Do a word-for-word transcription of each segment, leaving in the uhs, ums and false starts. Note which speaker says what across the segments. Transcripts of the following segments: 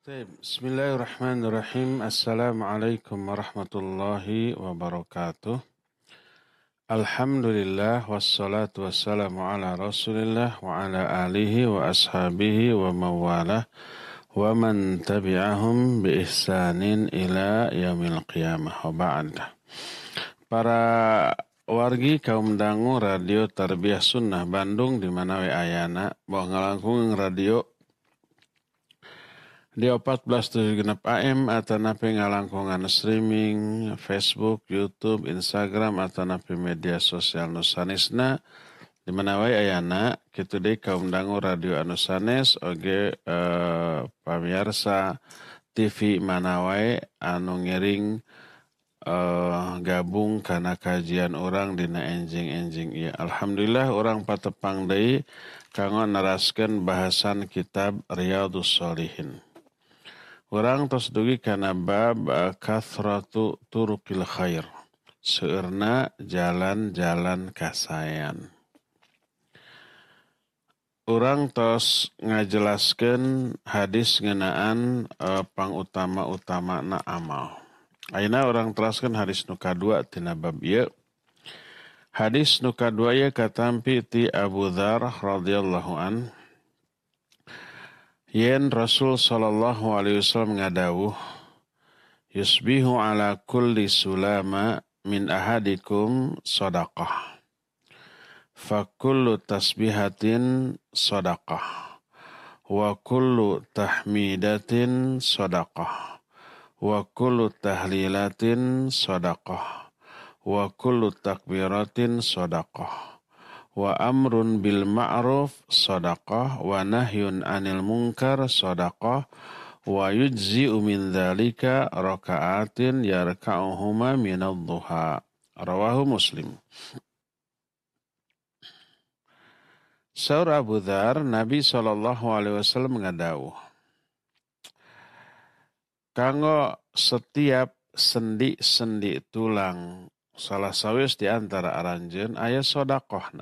Speaker 1: طيب بسم الله الرحمن الرحيم السلام عليكم ورحمة الله وبركاته الحمد لله والصلاة والسلام على رسول الله وعلى آله وأصحابه ومن والاه ومن تبعهم بإحسان إلى يوم القيامة وبعد. Para wargi kaum dangu radio Tarbiyah Sunnah Bandung di mana we ayana bawa ngalangkung radio di empat belas tujuh genep A M atau napi ngalangkungan streaming Facebook, YouTube, Instagram atau napi media sosial nusanisna di mana wae ayana kitu deui kaum dangu radio anu sanes oge eh, pamirsa T V mana wae anu ngiring eh, gabung kana kajian orang dina enjing-enjing ieu. Alhamdulillah orang patepang deui kanggo naraskeun bahasan kitab Riyadhus Shalihin. Orang tos dugi kana bab uh, kathratu turukil khair. Seueurna jalan-jalan kasayan. Orang tos ngajelaskeun hadis ngeunaan uh, pangutama-utamana amal. Ayeuna orang teraskeun hadis nu kadua tina bab ieu. Hadis nu kadua ieu katampi ti Abu Dzar radhiyallahu an. Yen Rasul sallallahu alaihi wasallam ngadawuh yusbihu ala kulli sulama min ahadikum sadaqah fa kullu tasbihatin sadaqah wa kullu tahmidatin sadaqah wa kullu tahlilatin sadaqah wa kullu takbiratin sadaqah wa amrun bil ma'ruf sadaqah wa nahyun anil munkar sadaqah wa yujzi'u min dzalika raka'atin yarka'uhuma minadh dhuha rawahu Muslim. Saur Abu Dzar Nabi sallallahu alaihi wasallam ngadawuh kanggo setiap sendi-sendi tulang salah sawis di antara aranjeun aya sedekahna.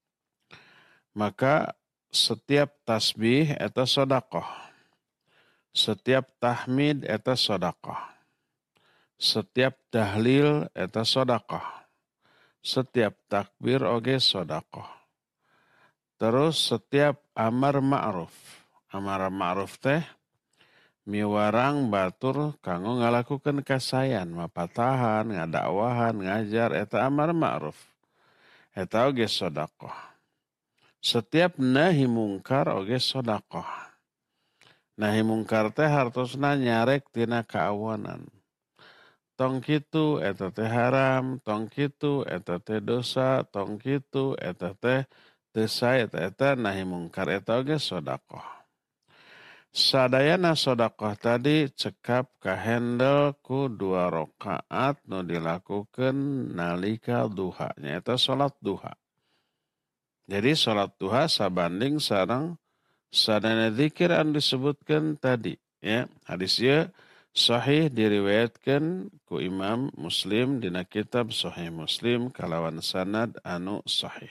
Speaker 1: Maka setiap tasbih eta sedekah. Setiap tahmid eta sedekah. Setiap tahlil eta sedekah. Setiap takbir oge sedekah. Terus setiap amar ma'ruf. Amar ma'ruf teh miwarang batur kanggo ngalakukeun kasayan, mapatahan, ngadakwahan, ngajar eta amar ma'ruf. Eta oge sedekah. Setiap nahi mungkar oge sedekah. Nahi mungkar teh hartosna nyarek tina kaawanan. Tong kitu eta teh haram, tong kitu eta teh dosa, tong kitu eta teh teu sae eta eta nahi mungkar eta oge sedekah. Sadayana sedekah tadi cekap kahendel ku dua rakaat nu dilakukeun nalika duha nya eta salat duha. Jadi salat duha sabanding sareng sadana zikir anu disebutkeun tadi ya. Hadis ieu sahih diriwayatkeun ku Imam Muslim dina kitab Sahih Muslim kalawan sanad anu sahih.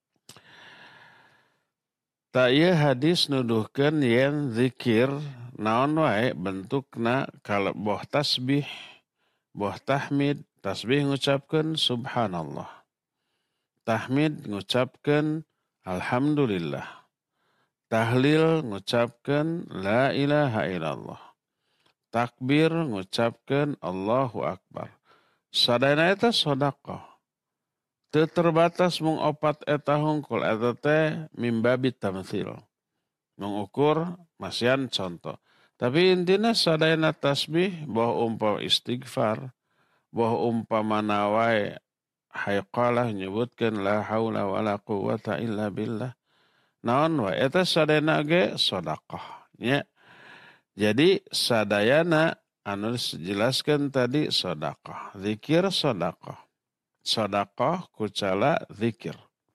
Speaker 1: Ta ieu hadis nuduhkeun yen zikir naon wae bentukna kala boh tasbih, boh tahmid, tasbih ngucapkeun subhanallah. Tahmid ngucapkeun alhamdulillah. Tahlil ngucapkeun la ilaha illallah. Takbir ngucapkeun Allahu akbar. Sadayana eta sedekah. Teu terbatas mung opat eta hungkul eta teh mimbabi tamtsil. Mengukur masian contoh. Tapi intina sadayana tasbih boh umpama istighfar, boh umpamana wae hayqalah nyebutkeun la haula wala quwata illa billah. Naon wae eta sadayana ge sedekah nya. Jadi sadayana anu dijelaskeun tadi sedekah, zikir sedekah. Sedekah kucala zikir.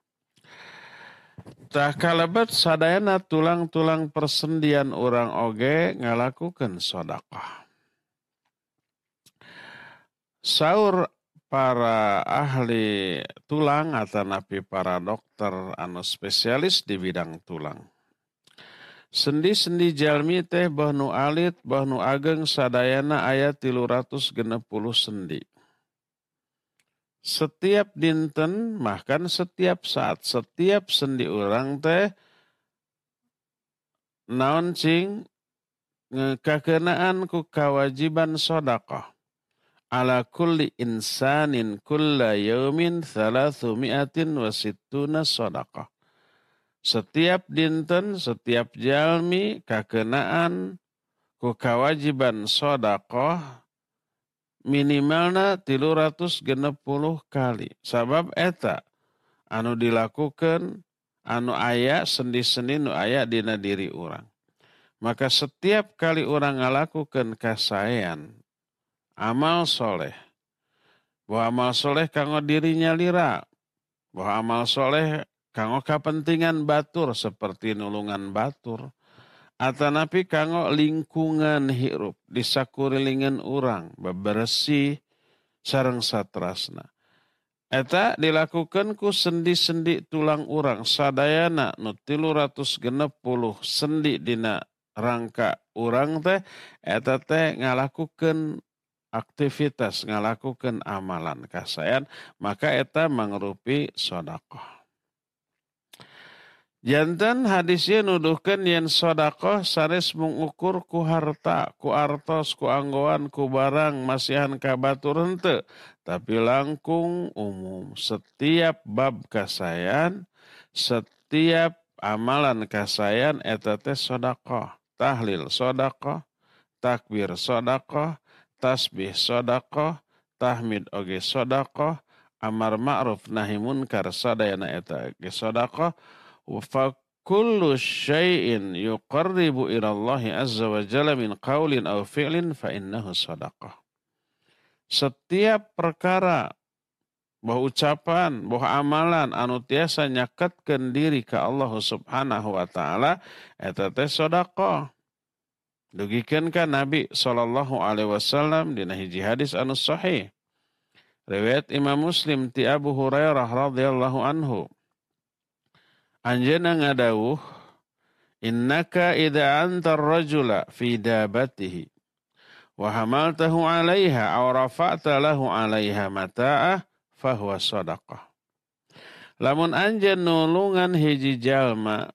Speaker 1: Tah kalabat sadayana tulang-tulang persendian orang oge ngalakukeun sedekah. Saur para ahli tulang atau napi para dokter anu spesialis di bidang tulang. Sendi-sendi jalmi teh boh nu alit, boh nu ageng sadayana aya tilu ratus genep puluh sendi. Setiap dinten, bahkan setiap saat, setiap sendi orang teh naon cing ngekakenaan ku kawajiban sedekah. Ala kulli insanin kulla yaumin thalathu mi'atin wa sittuna sedekah. Setiap dinten, setiap jalmi kakenaan ku kawajiban sedekah minimalna tilu ratus genep puluh kali. Sabab eta anu dilakukan anu aya sendi-sendi nu aya dina diri urang. Maka setiap kali orang ngalakukeun kasaean amal soleh, bahwa amal soleh kanggo dirinya lira, bahwa amal soleh kanggo kapentingan batur seperti nulungan batur, atanapi kanggo lingkungan hirup di sakurilingan urang, bebersih sareng satrasna. Eta dilakukan ku sendi-sendi tulang urang sadayana nu tilu ratus genep puluh sendi dina rangka urang teh eta teh ngalakukeun aktivitas, ngalakukeun amalan kasayan, maka eta mangrupi sedekah. Janten hadisnya nuduhkeun yen sedekah sanes mengukur ku harta, ku artos, ku anggoan, ku barang masihan ka batur henteu, tapi langkung umum. Setiap bab kasayan, setiap amalan kasayan eta teh sedekah. Tahlil sedekah, takbir sedekah, tasbih sedekah, tahmid oge sedekah, amar ma'ruf nahi munkar sadayana eta ge sedekah. Fa kullu syai'in yuqarribu ila Allah azza wa jalla min qaulin aw fi'lin fa innahu sadaqah. Setiap perkara bahwa ucapan, bahwa amalan anu tiasa nyaketkeun diri ka Allah Subhanahu wa taala eta teh sedekah. Dugikeun ka Nabi sallallahu alaihi wasallam dina hiji hadis anu sahih. Riwayat Imam Muslim ti Abu Hurairah radhiyallahu anhu. Anjeunna ngadawuh, innaka idza anta ar-rajula fi dabatihi wa hamaltahu 'alaiha aw rafa'ta lahu 'alaiha mata'ah fa huwa shadaqah. Lamun anjeun nulungan hiji jalma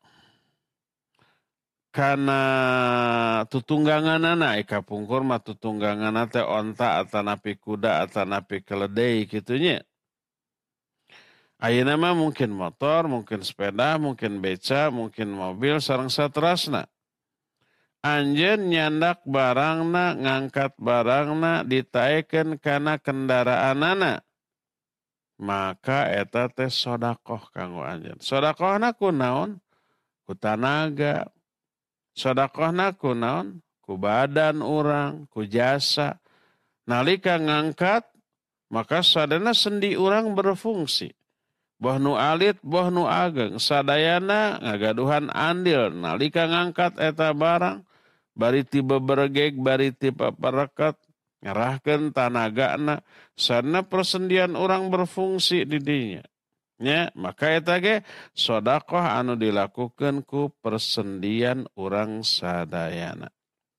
Speaker 1: kana tutungganganana eka pungkur mah tutungganganna teh onta atanapi kuda atanapi keledai kitu nya. Ayeuna mah mungkin motor, mungkin sepeda, mungkin beca, mungkin mobil, sareng saterasna. Anjeun nyandak barangna, ngangkat barangna, ditaekeun kana kendaraanana. Maka eta teh sedekah kanggo anjeun. Sedekahna kunaon? Ku tanaga. Sedekahna kunaon? Ku badan urang, ku jasa. Nalika ngangkat, maka sadana sendi urang berfungsi. Boh nu alit, boh nu ageng, sadayana ngagaduhan andil, nalika ngangkat eta barang, bari tiba beregeg, bari tiba pereket, ngerahkeun tanagana, sana persendian orang berfungsi di dinya. Ya, maka eta ge sedekah anu dilakukeun ku persendian urang sadayana.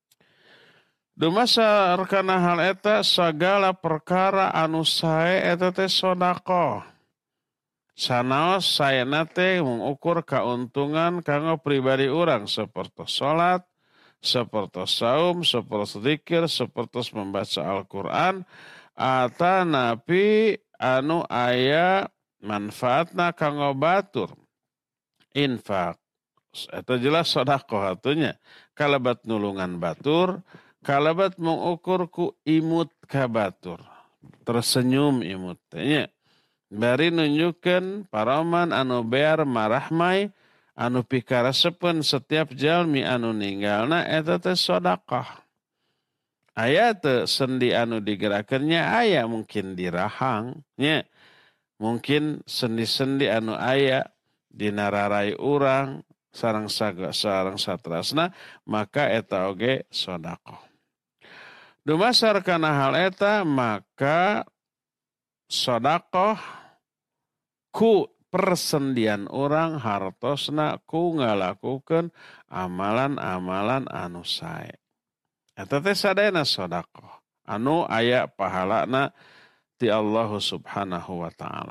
Speaker 1: Dumasa rekana hal eta sagala perkara anu sae eta teh sedekah. Sanaos sayana teh mengukur keuntungan kanggo pribadi orang seperti salat, seperti saum, seperti zikir, seperti membaca Al-Qur'an atanapi anu aya manfaatna kanggo batur. Infak. Eta jelas sedekah atunya. Kalabat nulungan batur, kalabat mengukur ku imut ka batur. Tersenyum imut teh nya. Bari nunjukkan paraman anu bear marahmai anu pikarasepeun setiap jalmi anu ninggalna eta teh sedekah. Aya teu sendi anu digerakkeunnya aya mungkin dirahang nya. Mungkin sendi-sendi anu aya dina rarai urang sareng saga sareng satrasna maka eta oge sedekah. Dumasar kana hal eta maka sedekah ku persendian orang hartosna ku ngalakukeun amalan-amalan anu sae. Eta teh sadayana sedekah anu aya pahalana ti Allah Subhanahu wa taala.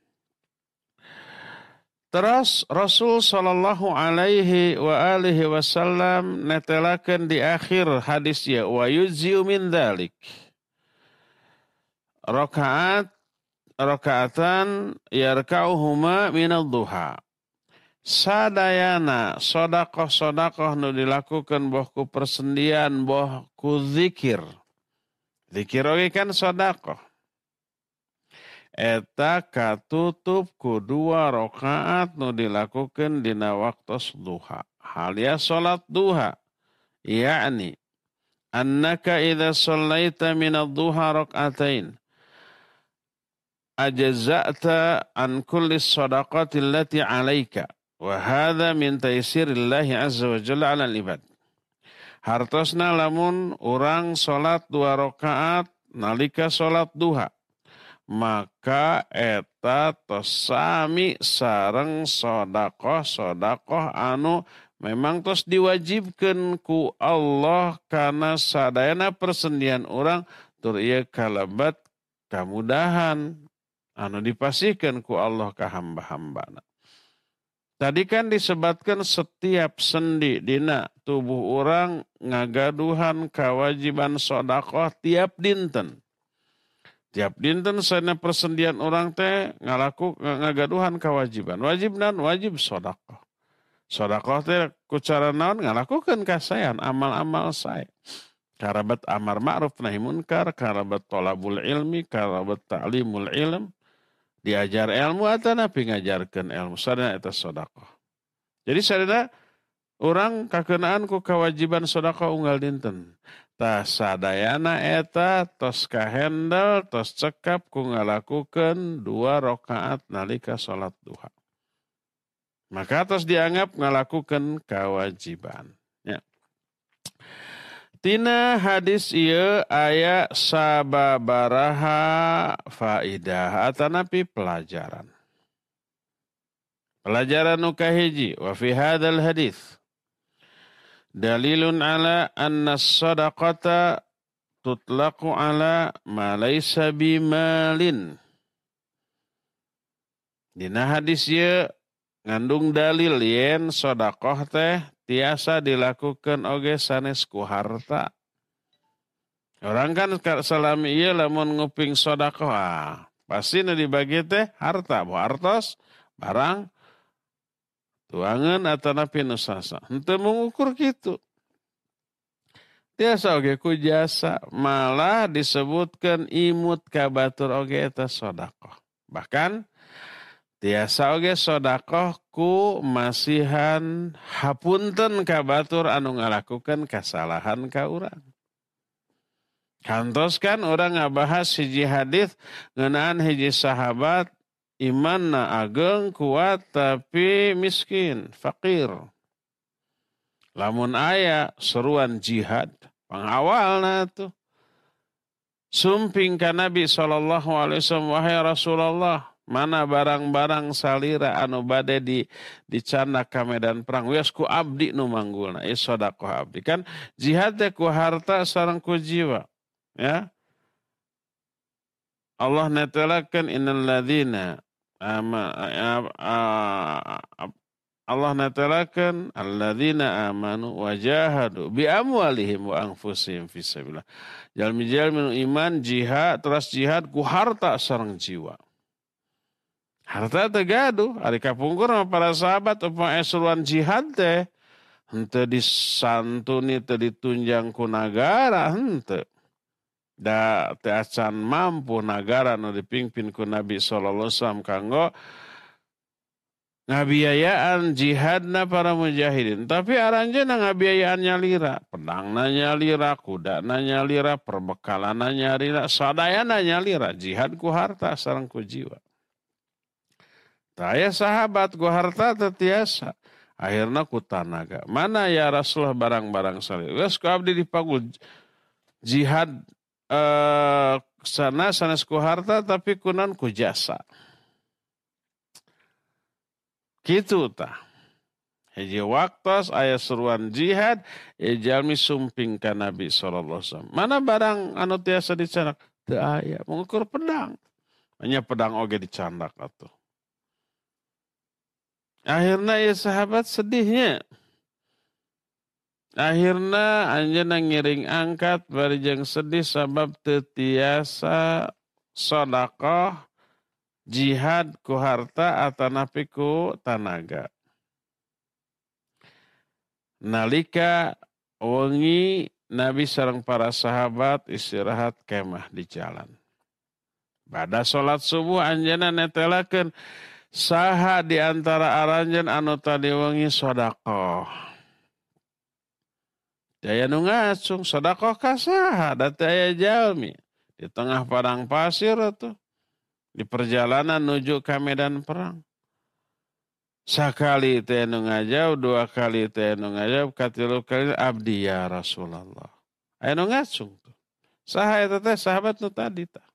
Speaker 1: Terus Rasul sallallahu alaihi wa alihi wasallam netelakeun di akhir hadisnya wa yujzi'u min dzalik. Rakaat rakaatan yarka'uhuma min ad-duha. Sadayana sedekah-sedekah nu dilakukeun boh ku persendian boh ku zikir. Zikir oge kan sedekah. Eta katutup ku dua rakaat nu dilakukeun dina waktos duha. Halia salat duha. Yakni annaka idza shallaita min ad-duha rak'atain ajza'ta an kulli shadaqati allati 'alaika wa hadha min taysirillahi 'azza wa jalla 'alal ibad. Hartosna lamun urang salat dua rakaat nalika salat duha, maka eta tos sami sareng sedekah-sedekah anu memang tos diwajibkeun ku Allah kana sadayana persendian urang tur ieu kalebat kamudahan anu dipasihkeun ku Allah ka hamba-hambana. Tadi kan disebutkan setiap sendi dina tubuh urang ngagaduhan kewajiban sedekah tiap dinten. Tiap dinten sana persendian orang teh ngalaku ngagaduhan kewajiban. Wajib nan wajib sedekah. Sedekah teh ku cara naon ngalakukeun kasayan amal-amal sae. Karabat amar ma'ruf nahi munkar, karabat thalabul ilmi, karabat ta'limul ilm. Diajar ilmu atau napi ngajarkeun ilmu. Sadana eta sedekah. Jadi sadana urang kakeunaan ku kewajiban sedekah unggal dinten. Tah sadayana eta tos kahendel tos cekap ku ngalakukeun dua rakaat nalika salat duha. Maka tos dianggap ngalakukeun kewajiban. Ya. Tina hadis ieu aya sababaraha faidah atanapi pelajaran. Pelajaran nu kahiji wa fi hadzal hadis dalilun ala anna sadaqata tutlaqu ala ma laysa bimalin. Dina hadis ieu ngandung dalil yen sedekah teh tiasa dilakukan oge sanes ku harta. Orang kan salami ieu lamun nguping sedekah pasti nu dibagi teh harta, bo hartos barang tuangan atanapi nu sasa. Henteu mengukur kitu. Tiasa oge ku jasa, malah disebutkan imut kabatur oge eta sedekah. Bahkan tiasa oge sedekah ku masihan hapunten kabatur anu ngalakukeun kasalahan ka urang. Kantos kan urang ngabahas hiji hadis ngeunaan hiji sahabat imanna ageng kuat tapi miskin, fakir. Lamun aya seruan jihad, pangawalna tuh. Sumping ka Nabi sallallahu alaihi wasallam, wahai Rasulullah, mana barang-barang salira anu bade di dicana ka medan perang wios ku abdi nu manggulna ieu sedekah abdi. Kan jihad teh ku harta sareng ku jiwa. Ya. Allah netelakeun innal ladzina ama Allah netelakeun alladzina amanu wajahadu bi amwalihim wa anfusihim fisabilillah. Jalmi-jalmi nu iman jihad terus jihad ku harta sareng jiwa. Harta teh gaduh, ari kapungkur sama para sahabat upama eseruan jihad teh henteu disantuni teu ditunjang ku nagara henteu. Da teu acan mampu nagara nu dipingpin ku Nabi sallallahu alaihi wasallam kanggo ngabiayaan jihadna para mujahidin. Tapi aranjeuna ngabiayaan nyalira, pedangna nyalira, kudana nyalira, perbekalanna nyalira, sadayana nyalira, jihad ku harta sareng ku jiwa. Taya sahabat ku harta tetiasa. Akhirna ku tanaga. Mana ya Rasulullah barang-barang salih. Wes ku abdi dipagul jihad eh, sana sanes ku harta tapi kunan ku jasa. Kitu tah. Hiji waktos aya seruan jihad, ya jalmi sumping ka Nabi sallallahu alaihi wasallam. Mana barang anu tiasa dicandak? Teu aya, mengukur pedang. Hanya pedang oge dicandak atuh. Akhirna ya sahabat sedihnya. Akhirna anjeunna ngiring angkat bari jeung sedih sabab teu tiasa sedekah jihad ku harta atanapi ku tanaga. Nalika wengi Nabi sareng para sahabat istirahat kemah di jalan. Pada salat subuh anjeunna netelakeun saha di antara aranjeun anu tadi wengi sedekah. Daya nu ngacung sedekah ka saha da teu aya jalmi di tengah padang pasir atuh di perjalanan menuju ke medan perang. Sakali teh nu ngajauh, dua kali teh nu ngajauh, katilu kali abdi ya Rasulullah. Aya nu ngacung tuh. Saha eta teh sahabat nu tadi tah.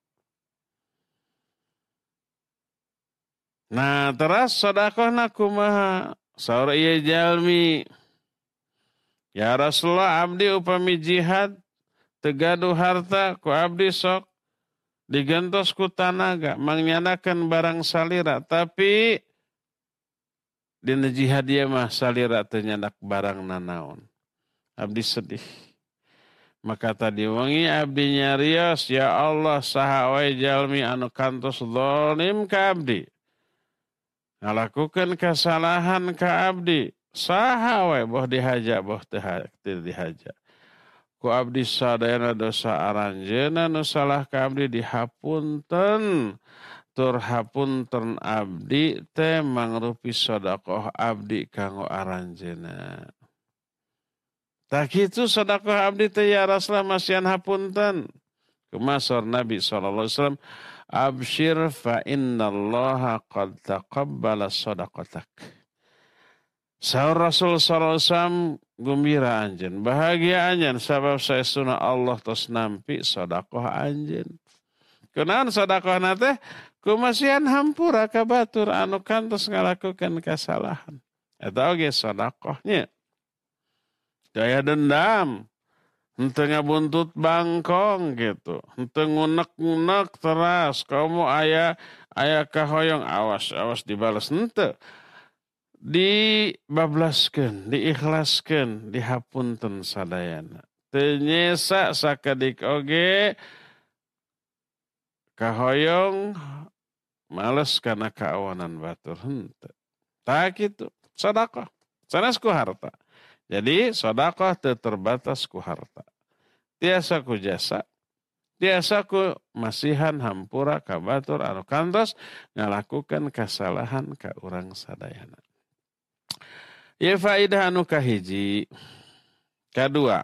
Speaker 1: Nah, teras sedekahna kumaha? Saur ieu jalmi. Ya Rasulullah, abdi upami jihad teu gaduh harta ku abdi sok digentos ku tanaga mangyanakeun barang salira, tapi dina jihad ieu mah salira teu nyandak barang nanaon. Abdi sedih. Maka tadi wengi abdi nyarios, ya Allah saha wae jalmi anu kantos zalim ka abdi. Ngalakukeun kesalahan ka abdi, saha wae boh dihaja boh teu dihaja. Ku abdi sadayana dosa aranjeunna nu salah ka abdi dihapunten. Tur hapunten abdi teh mangrupi sedekah abdi kanggo aranjeunna. Tak kitu sedekah abdi teh ya Rasulullah masihan hapunten. Kumasor Nabi sallallahu alaihi wasallam, absyir fa innallaha qad taqabbala sadaqatak. Saur Rasul sallallahu alaihi wasallam gembira anjeun, bahagia anjeun sabab saestuna Allah tos nampi sedekah anjeun. Kunaon sedekahna teh? Kumasihan hampura ka batur anu kantos ngalakukeun kasalahan. Eta oge sedekahnya. Daya dendam, henteu ngabuntut bangkong gitu, henteu ngunek-ngunek teras, kamu aya aya kahoyong awas awas dibales henteu. Dibablaskeun, diikhlaskeun, dihapunten sadayana. Teu nyesa sakadik oge kahoyong males karena keawanan batur henteu. Tak kitu, sedekah. Sanes ku harta. Jadi sedekah teu terbatas ku harta. Tiasa ku jasa, tiasa ku masihan hampura ka batur anu kantos ngalakukeun kasalahan ka urang sadayana. Ieu faedah anu kahiji. Kadua,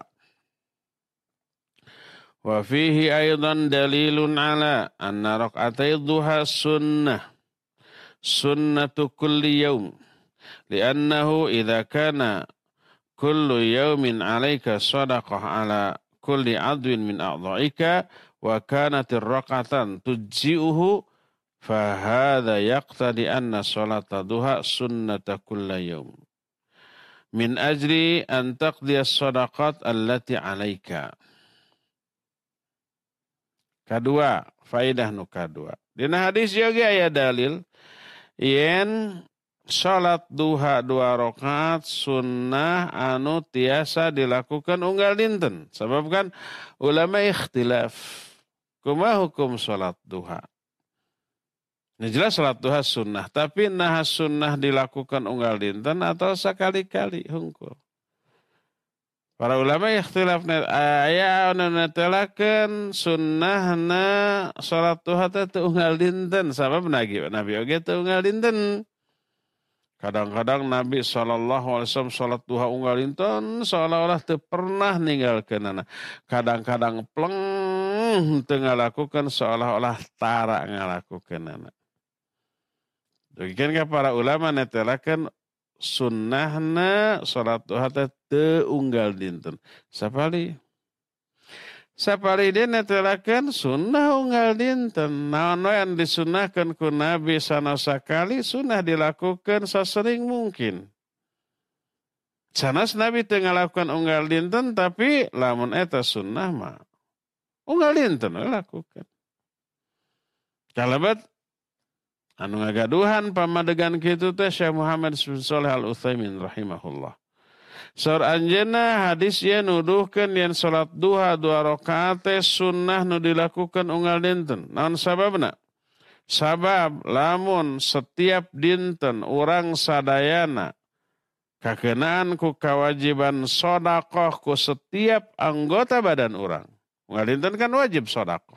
Speaker 1: wa fihi aidan dalilun ala anna raq'atai dhuha sunnah sunnatu kulli yaum li'annahu idza kana kullu yaumin 'alaika shadaqah 'ala kulli 'adwin min a'dha'ika wa kanat ar-raq'atan tujzi'uhu fa hadha yaqtadi anna salata dhuha sunnata kulli yaum min ajli an taqdiya as-sadaqat allati 'alaika. Kadua, faedah nu kadua. Dina hadis juga aya dalil yen salat duha dua rakaat sunnah anu tiasa dilakukan unggal dinten. Sebab kan ulama ikhtilaf kumaha hukum salat duha. Ini jelas salat duha sunnah, tapi nah sunnah dilakukan unggal dinten atau sekali-kali hungkul. Para ulama ikhtilaf aya anu netelakeun sunnahna salat duha teh teu unggal dinten sabab Nabi Nabi oge teu unggal dinten. Kadang-kadang Nabi sallallahu alaihi wasallam salat duha unggal dinten seolah-olah teu pernah ninggalkeunana. Kadang-kadang pleng teu ngalakukeun seolah-olah tara ngalakukeunana. Demikian ka para ulama netelakeun sunnahna salat duha teh teu unggal dinten. Sapali Sapari dia netelakeun sunnah unggal dinten. Naon wae anu disunahkeun ku Nabi sanosa kali sunnah dilakukan sasering mungkin. Sanes Nabi teu ngalakukan unggal dinten tapi lamun eta sunnah mah unggal dinten we lakukan. Kalabat anu ngagaduhan pamadegan kitu teh Syekh Muhammad Shalih Al Utsaimin rahimahullah. Saur anjeunna hadis ieu nuduhkeun yen salat duha dua rakaat teh sunnah nu dilakukan unggal dinten. Naon sababna? Sabab lamun setiap dinten urang sadayana kakenaan ku kewajiban sedekah ku setiap anggota badan urang. Unggal dinten kan wajib sedekah.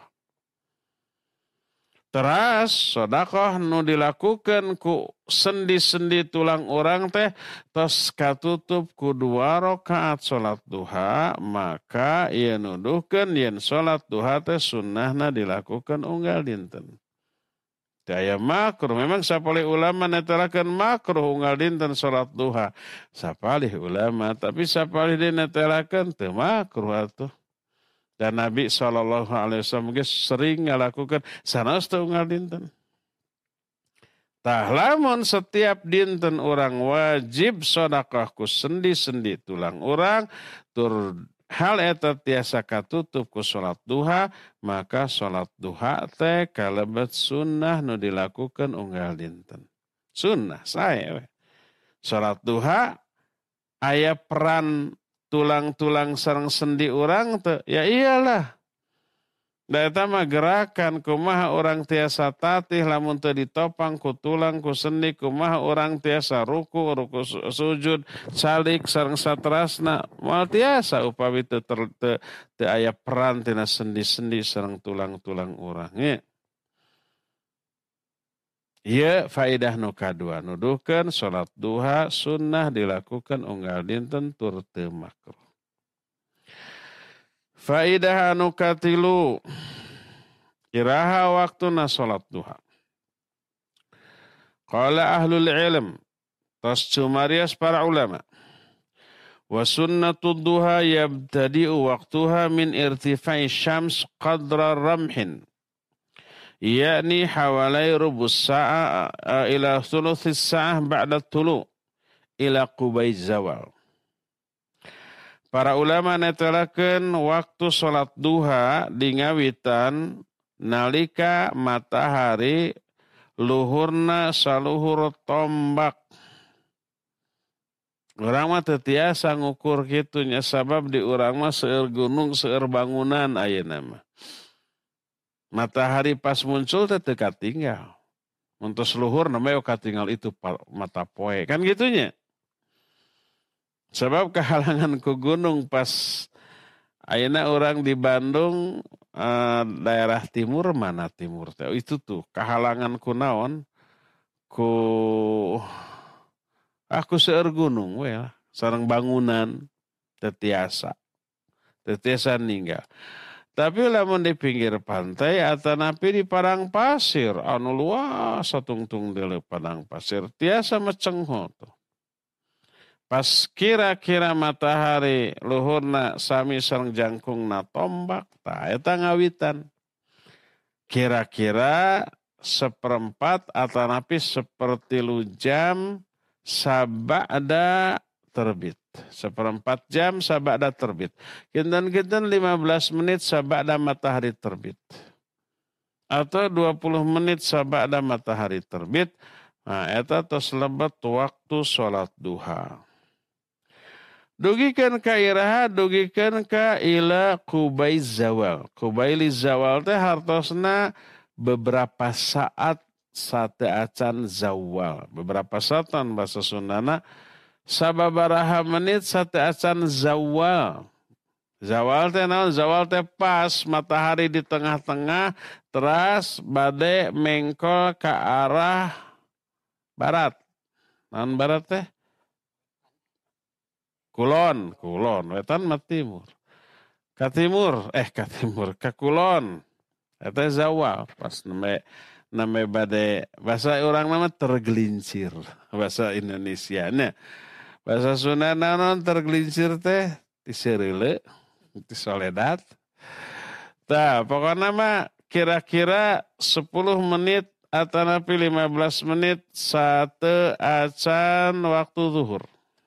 Speaker 1: Teras sedekah nu dilakukan ku sendi-sendi tulang orang teh tos katutup ku dua rakaat salat duha, maka ieu nuduhkeun yen salat duha teh sunnahna dilakukan unggal dinten. Daya makruh memang sapalih ulama netelakeun makruh unggal dinten salat duha. Sapalih ulama tapi sapalih dinetelakeun teu makruh atuh. Dan Nabi shallallahu alaihi wasallam sering ngalakukan sanes teu unggal dinten. Tah lamun setiap dinten orang wajib sedekah ku sendi-sendi tulang orang tur hal eta tiasa katutup ku salat duha, maka salat duha teh kalebet sunnah nu dilakukan unggal dinten. Sunnah sae we. Salat duha aya peran tulang-tulang sareng sendi orang teh ya iyalah. Da eta mah gerakan kumaha orang tiasa tatih lamun teu ditopang ku tulang ku sendi kumaha orang tiasa ruku ruku sujud salik sareng saterasna moal tiasa upawi teu teu aya peran tina sendi-sendi sareng tulang-tulang urang nya. Ieu faedah nu kadua nuduhkeun salat duha sunnah dilakukan unggal dinten tur teu makruh. Faedah anu katilu iraha waktuna salat duha. Qala ahlul ilm tas cumarias para ulama. Wa sunnatud duha yabtadi'u waqtuha min irtifai syams qadra ramhin. Yakni hawalai rubus sa'a ila thuluthis sa'ah ba'da tulu ila qubay zawal. Para ulama netelakeun waktu salat duha dingawitan nalika matahari luhurna saluhur tombak. Urang mah teu tiasa ngukur kitu nya sabab di urang mah seueur gunung seueur bangunan ayeuna mah. Matahari pas muncul teh teu katinggal. Mun tos luhur namanya katinggal itu mata poe kan gitunya. Sebab kehalangan ku gunung pas ayeuna orang di Bandung eh, daerah timur mana timur teh itu tuh kehalangan ku naon ku aku seueur gunung we lah sareng bangunan teu tiasa teu tiasa ninggal. Tapi lamun di pinggir pantai atanapi di padang pasir anu luas satungtung deuleu padang pasir tiasa macengho tuh. Pas kira-kira matahari luhurna sami sareng jangkungna tombak, tah eta ngawitan. Kira-kira seperempat atanapi sepertilu jam sabada terbit. Seperempat jam sabada terbit. Kinten-kinten lima belas menit sabada matahari terbit. Atau dua puluh menit sabada matahari terbit. Nah, eta tos lebet waktu salat duha. Dugikan ka iraha, dugikan ka ila kubai zawal. Kubaili zawal teh hartosna beberapa saat sate acan zawal. Beberapa saatan bahasa Sundana sababaraha menit sate acan zawal. Zawal teh naon? Zawal teh pas matahari di tengah-tengah teras bade mengkol ke arah barat. Naon barat teh? Kulon, kulon, wetan mah timur. Ka timur, eh ka timur, ka kulon. Eta zawal, pas name name bade bahasa orang nama tergelincir, bahasa Indonesianya. Bahasa Sunda naon tergelincir teh ti sereule, ti soledad. Tah, pokoknya mah kira-kira sepuluh menit atau napi lima belas menit satu acan waktu zuhur.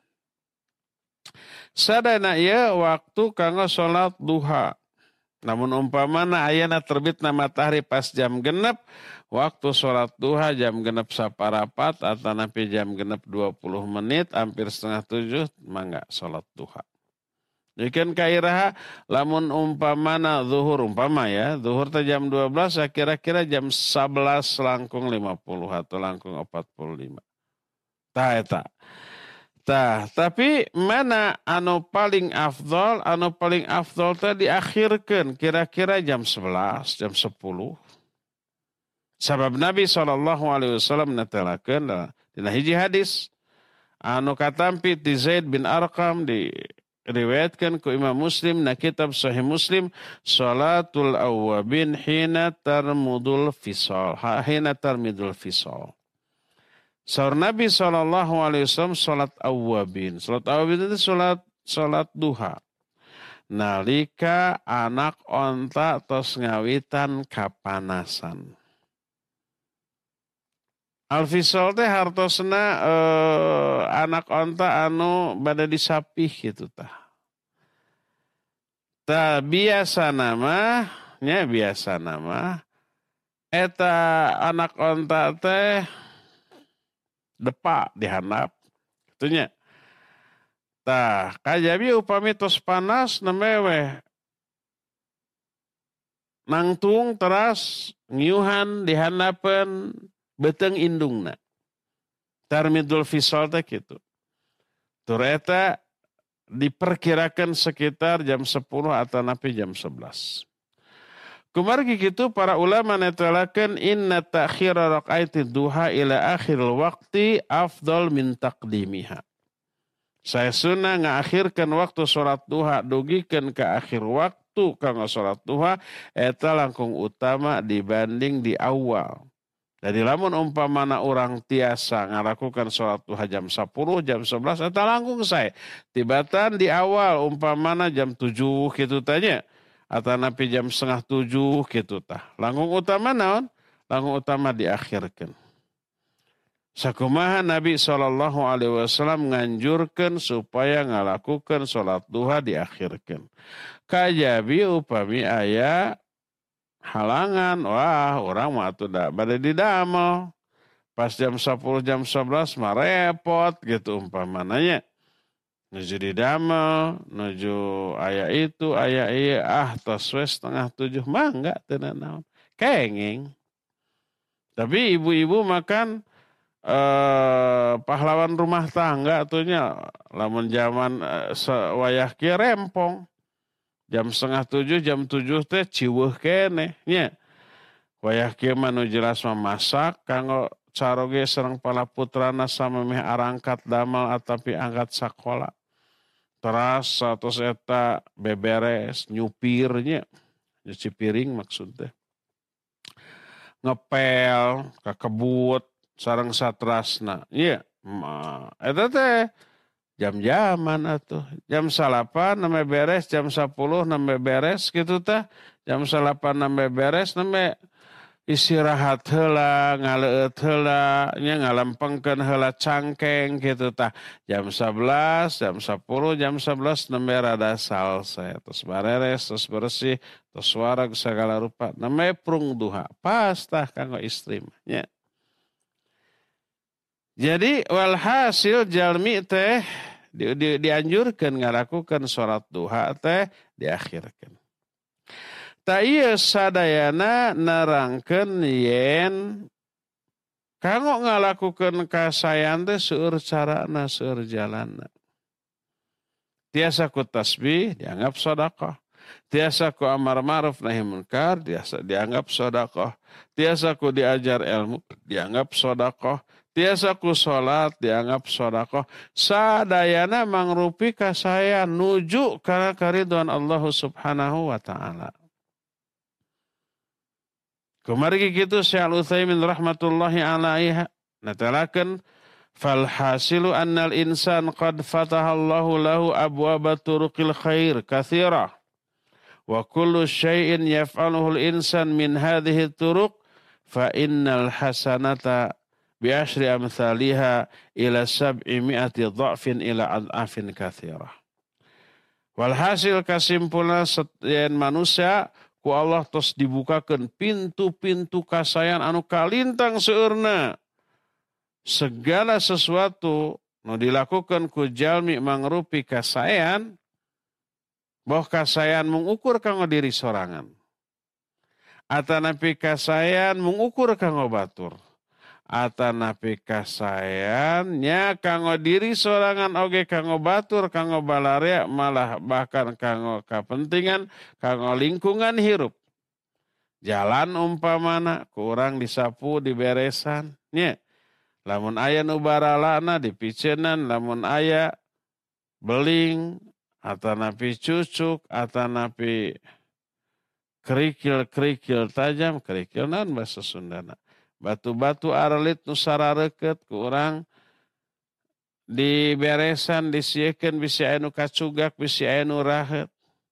Speaker 1: Sadana ieu waktu kanggo salat duha. Namun umpamana ayana terbitna matahari pas jam genep, waktu sholat duha jam genep saparapat atau napi jam genep dua puluh menit, hampir setengah tujuh, mangga sholat duha. Ikan kairaha, lamun umpamana zuhur, umpama ya, zuhur teh jam dua belas, kira-kira jam sebelas langkung lima puluh atau langkung empat puluh lima. Tah eta. Tah, tapi mana anu paling afdol, anu paling afdol teh diakhirkan kira-kira jam sebelas, jam sepuluh. Sabab Nabi shallallahu alaihi wasallam netelakeun dina hiji hadis anu katampi ti Zaid bin Arqam diriwayatkan ku Imam Muslim na kitab Sahih Muslim, salatul awwabin hina tarmudul fisal, hina tarmidul fisal. Saur Nabi shallallahu alaihi wasallam salat awwabin. Salat awwabin itu salat salat duha. Nalika anak onta tos ngawitan kapanasan. Al-fisal teh hartosna eh, anak onta anu bade disapih gitu tah. Tah biasa nama, nya biasa nama. Eta anak onta teh depa dihandap itunya. Tah kajabi upami tos panas nemewe nangtung teras ngiuhan dihandapeun beteng indungna. Tarmidul fisal teh kitu. Tur eta diperkirakan sekitar jam sepuluh atau napi jam sebelas. Kumargi kitu para ulama netelakeun inna ta'khira raqaitid duha ila akhiril waqti afdal min taqdimiha. Saya sunnah ngaakhirkan waktu salat duha dugikeun ke akhir waktu kanggo salat duha eta langkung utama dibanding di awal. Jadi lamun umpamana orang tiasa ngalakukan salat duha jam sepuluh, jam sebelas eta langkung sae. Tibatan di awal umpamana jam tujuh kitu tanya. Atau napi jam setengah tujuh gitu tah. Langkung utama naon? Langkung utama diakhirkan. Sakumaha Nabi shallallahu alaihi wasallam nganjurkan supaya ngalakukan sholat duha diakhirkan. Kajabi upami aya halangan, wah orang mah atuh da bade didamel. Pas jam sepuluh jam sebelas mah repot gitu umpamananya. Nuju di damel, nuju aya itu, aya iya, ah tos we setengah tujuh, mah enggak tenan naon. Kenging. Tapi ibu-ibu makan eh, pahlawan rumah tangga tuhnya, lamun zaman eh, wayah kieu rempong. Jam setengah tujuh, jam tujuh teh ciweuh keneh nya. Wayah kieu mah nu jelas memasak kanggo caroge sareng palaputrana samemeh arangkat damel atapi angkat sakola. Teras satu eta beberes nyupirnya, nyuci piring maksudnya. Ngepel, kakebut, sareng satrasna. Iya, eta teh jam-jaman atuh. Jam salapan name beres, jam sepuluh name beres gitu tah. Jam salapan name beres name istirahat heula, ngaleueut heula, nya ngalampengkeun heula cangkeng gitu tah. Jam sebelas, jam sepuluh, jam sebelas nembe rada salse, terus bareres, terus bersih, terus warag segala rupa. Nembe prung duha. Pas tah kanggo istri nya. Jadi walhasil jalmi teh di, di, dianjurkan ngalakukan sholat duha teh diakhirkan. Ta ieu sadayana nerangkeun yen kanggo ngalakukeun kasayan teh seueur carana seueur jalanna. Tiasa ku tasbih dianggap sedekah. Tiasa ku amar ma'ruf nahi munkar tiasa dianggap sedekah. Tiasa ku diajar ilmu dianggap sedekah. Tiasa ku salat dianggap sedekah. Sadayana mangrupi kasayan nuju kana karidwan Allah Subhanahu wa taala. Kumargi kitu Syekh Al-Utsaimin rahmatullahi alaihi natalakan fal hasilu annal insan qad fataha Allahu lahu abwaba turuqil khair katsira Wa kullu syai'in yaf'aluhu al-insan min hadhihi turuq fa innal hasanata bi asyri amthaliha ila sab'i mi'ati dha'fin ila ad'afin katsirah. Walhasil kasimpulna setian manusia ku Allah tos dibukakeun pintu-pintu kasayan anu kalintang seueurna. Segala sesuatu nu dilakukan ku jalmi mangrupi kasayan, boh kasayan mengukur kanggo diri sorangan. Atanapi kasayan mengukur kanggo batur. Atanapi kasayan nya kanggo diri sorangan oge kanggo batur, kanggo balarea, malah bahkan kanggo kapentingan, kanggo lingkungan hirup. Jalan umpamana kurang disapu diberesan nya. Lamun aya nu baralana dipiceunan, lamun aya beling atanapi cucuk, atanapi kerikil-kerikil tajam, kerikil naon basa Sundana. Batu-batu aralit nu sarareukeut ku urang diberesan, disiekeun bisi aya nu kacugak, bisi aya nu raheut.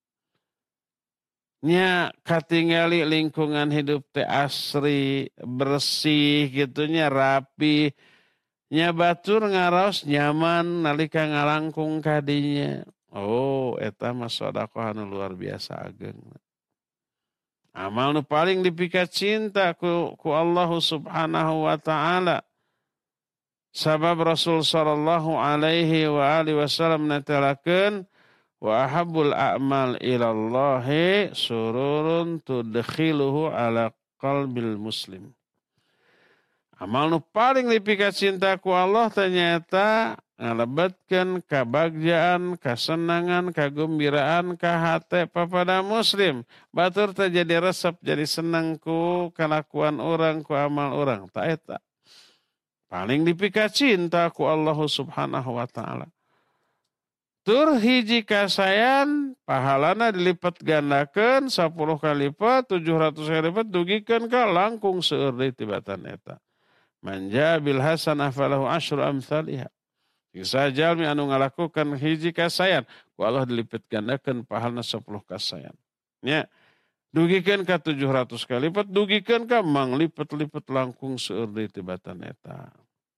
Speaker 1: Nya katingali lingkungan hidup teh asri, bersih gitunya, rapi. Nya batur ngaraos nyaman nalika ngalangkung kadinya. Oh, eta mah sedekah anu luar biasa ageung. Amal nu paling dipika cinta ku, ku Allah Subhanahu wa taala. Sabab Rasul sallallahu alaihi wa alihi wasallam natalakeun wa ahabbul a'mal ilallahi sururun tudkhiluhu ala qalbil muslim. Amal nu paling dipika cinta ku Allah ternyata ngalebetkeun kabagjaan, kasenangan, kagembiraan ka hate papada muslim. Batur teh jadi resep, jadi senang ku kalakuan orang, ku amal orang. Ta eta. Paling dipika cinta ku Allah Subhanahu wa taala. Tur hiji kasayan pahalana dilipat gandakeun sepuluh kali lipat, tujuh ratus kali lipat dugikeun ka langkung seueur deui tibatan eta. Manja bil hasanah falahu asyru amsalihha. Jika jalmi anu ngalakukan hiji kasayan, ku Allah dilipat gandakeun pahalna sepuluh kasayan. Nya dugikeun ka tujuh ratus kali lipat, dugikeun ka manglipat-lipat langkung seueur deui tibatan eta.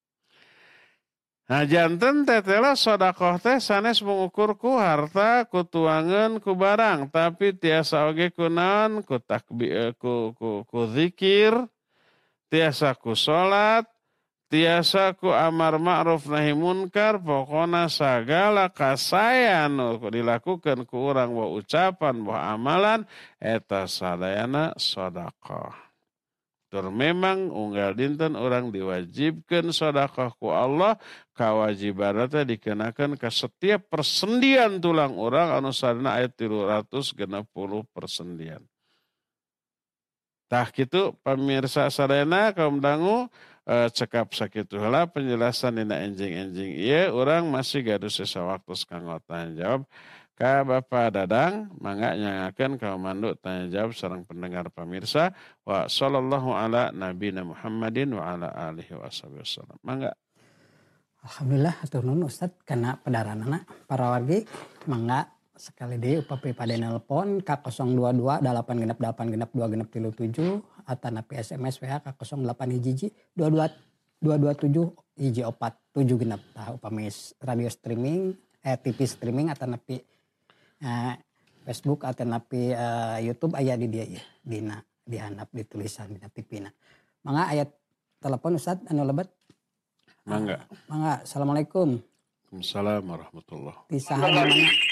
Speaker 1: Nah janten tetela sedekah teh sanes mengukur ku harta, ku tuangan, ku barang, tapi tiasa oge ku naon, ku takbir, ku, ku, ku zikir, tiasa ku salat, tiasa ku amar ma'ruf nahi munkar, pokona sagala kasayan nu dilakukan ku urang wa ucapan wa amalan eta sadayana sedekah. Tur memang unggal dinten orang diwajibkan sedekah ku Allah, kawajiban teh dikenakan ke setiap persendian tulang orang anu sarana ayat tiga ratus enam puluh persendian. Tah kitu pamirsa sadayana kaum dangu e, cekap sakitu heula penjelasan dina enjing-enjing ieu urang masih gaduh sesawaktu kanggo tanya jawab ka Bapak Dadang, mangga nyangakeun ka mandu tanya jawab sareng pendengar pamirsa. Wa sallallahu ala nabiyina Muhammadin wa ala alihi wasallam. Mangga.
Speaker 2: Alhamdulillah hatur nuhun Ustaz kana padaranana para wargi. Mangga sekali deui upapi pada nelpon ka nol dua dua delapan genep delapan genep dua genep tilu tujuh atanapi S M S W A ka nol delapan hiji dua dua dua dua tujuh hiji opat tujuh genep. Tah upami radio streaming eh T V streaming atanapi Uh, Facebook atau napi uh, YouTube aya di dia ya, dina dihandap di tulisan dina T V-na. Mangga ayat telepon Ustaz anu lebat.
Speaker 1: Mangga.
Speaker 2: Uh, mangga. Assalamualaikum.
Speaker 1: Waalaikumsalam warahmatullahi.
Speaker 2: Bisa mana?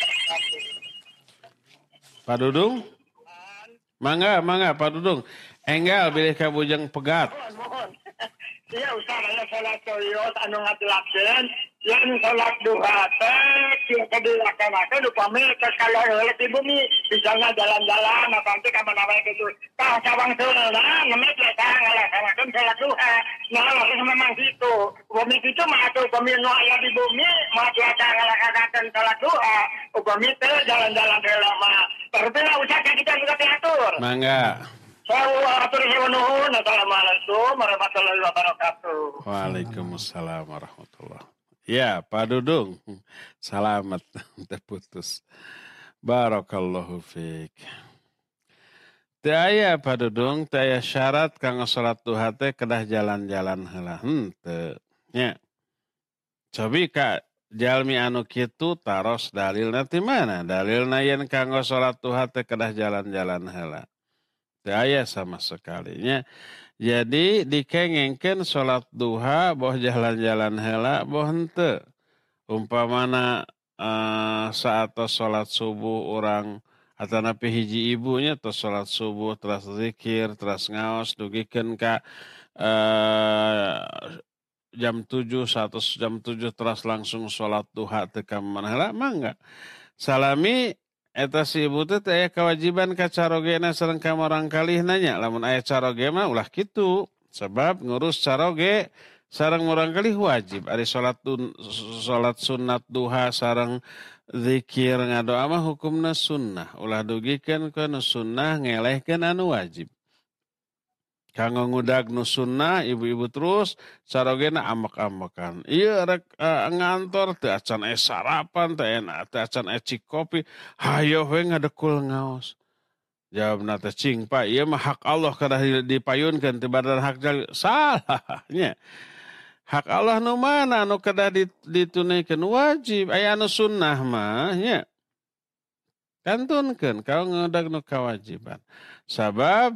Speaker 1: Pak Dudung? Mangga, mangga Pak Dudung. Enggal bilih ka bujang pegat.
Speaker 3: Iya Ustaz aya salat toyot anu ngatulakeun yang salat duha teh kieu dilaksanakeun upami geus kaleureut di bumi bisa jalan-jalan apa teh ka mana wae kitu tah cawang seulna ngemet eta ngalaksanakeun salat duha nah harus memang kitu upami kitu mah atuh upami nu aya di bumi mah cuaca ngalaksanakeun salat duha upami teh jalan-jalan heula mah pertama usaha kita juga diatur.
Speaker 1: Mangga.
Speaker 3: Assalamualaikum warahmatullahi wabarakatuh.
Speaker 1: Waalaikumsalam warahmatullahi. Ya, Pak Dudung. Selamat terputus. Barakallahu fiik. Teu aya padudung, teu aya syarat kanggo salat duha teh kedah jalan-jalan heula. Henteu. Nya. Cobi ka jalmi anu kitu taros dalilna ti mana? Dalilna yen kanggo salat duha teh kedah jalan-jalan heula. Teu aya sama sekali nya. Jadi dikengengkeun salat duha boh jalan-jalan heula boh henteu. Umpamana uh, saat salat subuh orang atau napi hiji ibunya tos salat subuh teras zikir teras ngaos dugikeun ka uh, jam tujuh satu jam tujuh teras langsung salat duha teu ka manehna mangga salami eta si ibu teh aya kewajiban ka carogena sareng ka marang kalih nanya lamun aya caroge mah ulah kitu sebab ngurus caroge sareng murang kali wajib ari salat salat sunat duha sareng zikir ngadoa mah hukumna sunnah ulah dugikeun ka nu sunnah ngelehkeun anu wajib kanggo ngudag nu sunnah ibu-ibu terus carogena amek-amekan ieu rek uh, ngantor teu acan aya sarapan teu enak teu acan aya cik kopi hayo we ngadekul ngaos jawabna teh cing Pak ieu mah hak Allah kada dipayunkeun teu badan hak jali salah nya hak Allah nu mana anu kedah ditunaikan wajib aya anu sunnah mah nya kantunkeun kau ngudag nu kewajiban sabab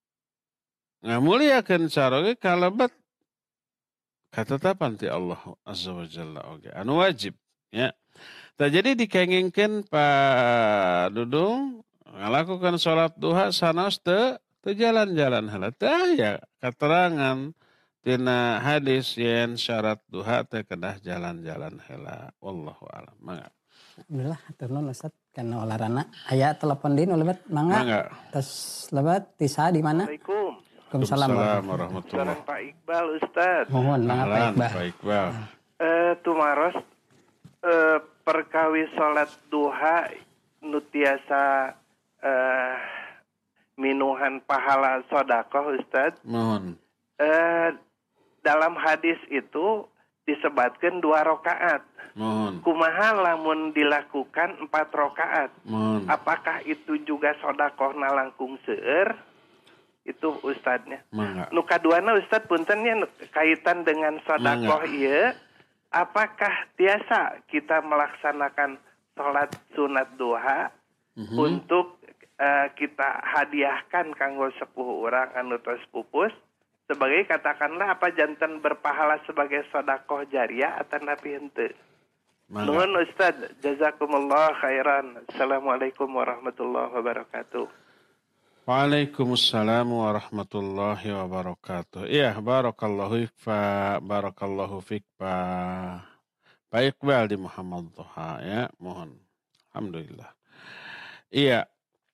Speaker 1: ngamuliakeun caroge kalebet katetapan ti Allah azza wa jalla oge anu wajib nya tah jadi dikengengkeun pa dudung ngalakukan salat duha sanaos teu teu jalan-jalan heula teu aya katerangan tina hadis yen syarat duha teh kedah jalan-jalan heula wallahu alam mangga
Speaker 2: alhamdulillah hatur nuhun Ustaz kana olarana aya telepon deui nu lebat mangga
Speaker 1: mangga
Speaker 2: tes lebat tisa di mana
Speaker 4: Assalamualaikum
Speaker 2: Waalaikumsalam
Speaker 1: warahmatullahi
Speaker 4: Salam Pak Iqbal Ustaz
Speaker 2: mohon mangga Pak Iqbal
Speaker 1: Pak Iqbal
Speaker 4: eh tumaros eh perkawis salat duha nu tiasa eh minuhan pahala sedekah Ustaz
Speaker 1: mohon
Speaker 4: eh dalam hadis itu disebutkan dua rakaat.
Speaker 1: Mohon.
Speaker 4: Kumaha lamun dilakukan empat rakaat.
Speaker 1: Mohon.
Speaker 4: Apakah itu juga sodakohna langkung seueur? Itu Ustadznya.
Speaker 1: Mangga.
Speaker 4: Nu kaduana Ustadz puntennya kaitan dengan sodakoh ieu. Apakah tiasa kita melaksanakan sholat sunat duha mm-hmm. untuk uh, kita hadiahkan kanggo sepuh orang anu tos pupus? Sebagai katakanlah apa jantan berpahala sebagai sodakoh jariah atau napi henteu. Nuhun Ustaz, jazakumullah khairan. Assalamualaikum warahmatullahi wabarakatuh.
Speaker 1: Waalaikumsalam warahmatullahi wabarakatuh. Iya, barakallahu fikfa, barakallahu fikfa. Pak Iqbal di Muhammad Toha ya, mohon. Alhamdulillah. Iya,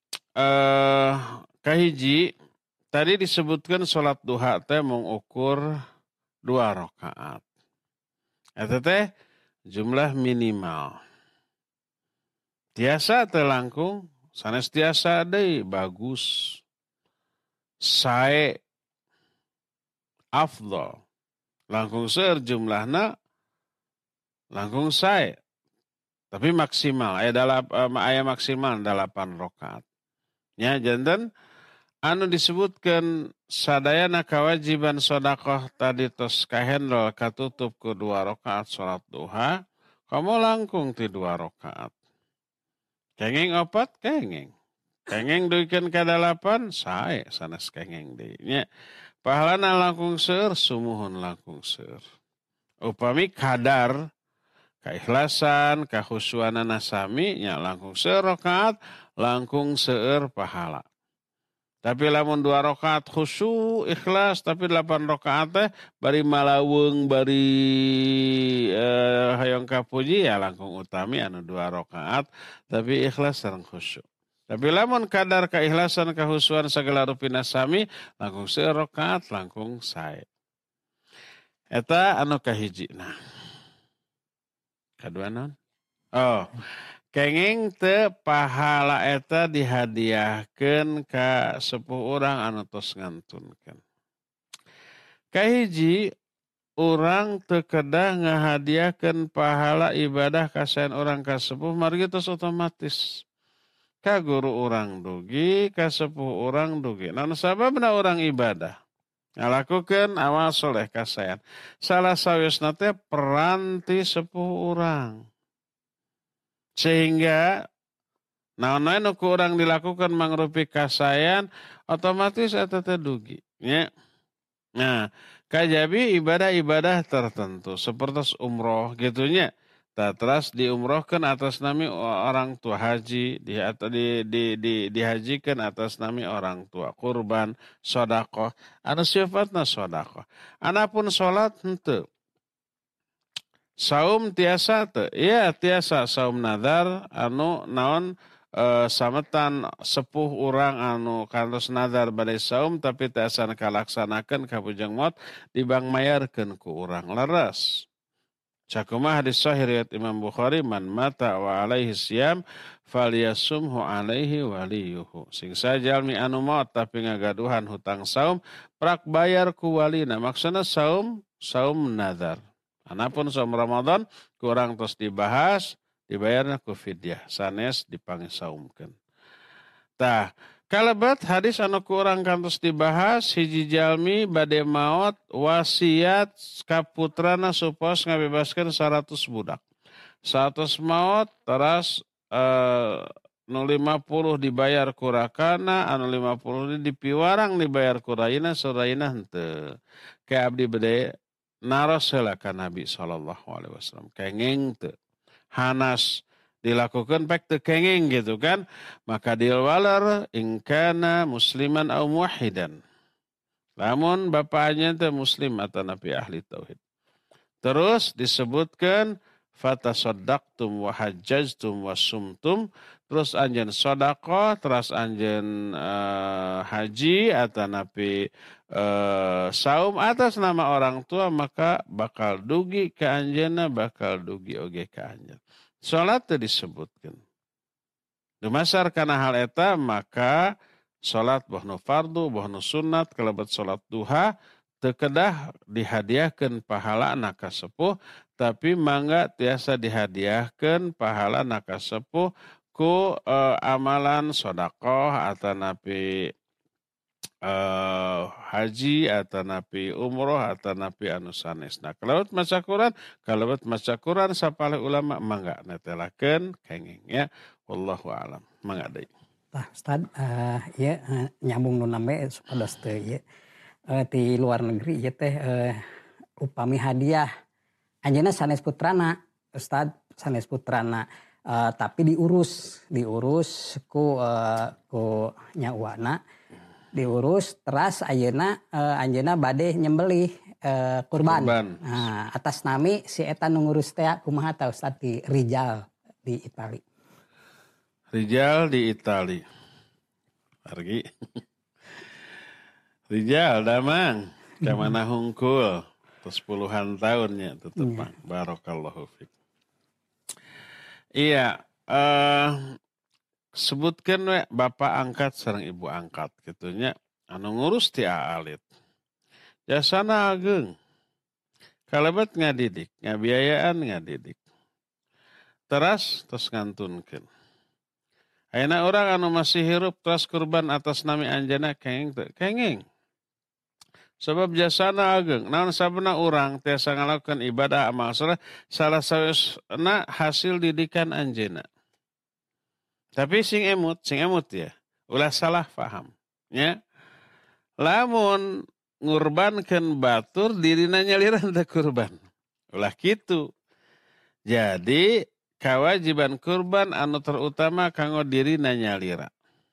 Speaker 1: eh kahiji tadi disebutkan sholat duha teh mengukur dua rakaat. Eta teh jumlah minimal. Tiasa teh langkung, sanes tiasa deui bagus. Sae afdal. Langkung seueur jumlahna langkung sae. Tapi maksimal aya dalap aya maksimal delapan rakaat. Nya janten anu disebutkan sadayana kewajiban sedekah tadi tos kahendol katutup ku dua rakaat salat duha, kamu langkung ti dua rakaat. Kenging opat kenging. Kenging duikeun ka dalapan sae sanes kenging deui. Nya pahalana langkung seueur sumuhun langkung seueur. Upami kadar keikhlasan, kahusuanana sami nya langkung seueur rakaat, langkung seueur pahala. Tapi lamun dua rakaat khusyuk ikhlas tapi delapan rakaat teh bari malaweung bari eh, hayang kapuji ya langkung utami anu dua rakaat tapi ikhlas sareng khusyuk. Tapi lamun kadar keikhlasan kahusuan sagala rupina sami langkung seueur rakaat langkung sae. Eta anu kahijina. Kadua naon? Oh. Kenging teu pahala eta dihadiahkeun ka sepuh urang anu tos ngantunkeun. Kahiji urang teu kedah ngahadiahkeun pahala ibadah ka saen urang ka sepuh margi tos otomatis. ka guru urang dugi, ka sepuh urang dugi. Naon sababna urang ibadah? Ngalakukeun amal soleh kasayan. Salah sawisna teh peran ti sepuh urang. Sehingga naon-naon nu ku urang dilakukan mangrupi kasayan, otomatis eta teh dugi. Ya. Nah, kajabi ibadah-ibadah tertentu seperti umroh gitunya. Terus diumrohkan atas nami orang tua haji, di, di, di, di, dihajikan atas nami orang tua, kurban, sodakoh, anu sifatna sodakoh. Anapun sholat henteu. Saum tiasa teu, iya tiasa saum nadar anu naon e, sametan sepuh urang anu kantos nadar badai saum tapi tiasa kalaksanakeun kabujang maot dibang mayarkeun ku urang leres. Cakumah hadis sahih riwayat Imam Bukhari, man mata wa alaihi siyam falyasumhu alaihi waliyuhu. Sing sajalmi anu maot tapi ngagaduhan hutang saum prak bayar ku walina. Maksudna saum saum nazar. Anapun saum Ramadan kurang terus dibahas dibayarna ku fidyah sanes dipanggih saumkeun. Tah kalebet hadis anu kurang kantos dibahas hiji jalmi bade maot wasiat ka putrana supos ngabebaskeun seratus budak. seratus maot teras eh, nu lima puluh dibayar ku rakana, anu lima puluh dipiwarang dibayar ku raina, suraina henteu. Ka abdi bade naros heula ka Nabi sallallahu alaihi wasallam. Kenging teu. Hanas dilakukan pek teu kenging gitu kan, maka dilwalar ingkana musliman au muwahhidan. Lamun bapaknya teh muslim atau nabi ahli tauhid. Terus disebutkan fatasaddaqtum wa hajjajtum wa sumtum, terus anjeun sedekah, terus anjeun uh, haji atau nabi uh, saum atas nama orang tua, maka bakal dugi ke anjeunna, bakal dugi oge ke anjeun. Salat itu disebutkan. Dumasar kana hal eta maka salat bohnu fardu, bohnu sunat, kalebet salat duha teu kedah dihadiahkeun pahalana ka sepuh, tapi mangga tiasa dihadiahkeun pahalana ka sepuh ku eh, amalan sedekah atanapi Uh, haji atau napi umroh atau napi anu sanesna. Kalebet maca Quran, kalebet maca Quran sapalih ulama mangga netelakeun kenging ya. Wallahu a'lam. Mangga deui.
Speaker 2: Tah Ustaz, uh, ya uh, nyambung nu nambe supados teu ya. Uh, di luar negeri ya teh uh, upami hadiah anjeunna sanes putrana, Ustaz, sanes putrana. Uh, tapi diurus, diurus ku uh, ku nyauana. Diurus teras ayeuna uh, anjeunna bade nyembelih uh, kurban. kurban. Nah, atas nami si eta nu ngurus teh kumaha ta Ustaz di Rijal di Itali.
Speaker 1: Rijal di Itali. Pergi. Rijal damang ka mana hungkul terus puluhan tahunnya tetep yeah. Barakallahu fik. Iya, eh uh, sebutkan we bapak angkat sareng ibu angkat gitunya anu ngurus ti aalit. Jasana ageung. Kalebet ngadidik, ngabiayaan ngadidik. Teras terus ngantunkeun. Ayeuna urang anu masih hirup teras kurban atas nami anjeunna kenging teu? Kenging. Sebab jasana ageung. Naon sabana urang tiasa ngalakukeun ibadah amal saleh salah sawisna hasil didikan anjeunna. Tapi sing emut, sing emut ya, ulah salah paham. Ya. Lamun ngurbankeun batur dirina nyalira teu kurban. Ulah kitu. Jadi kewajiban kurban anu terutama kanggo dirina nyalira.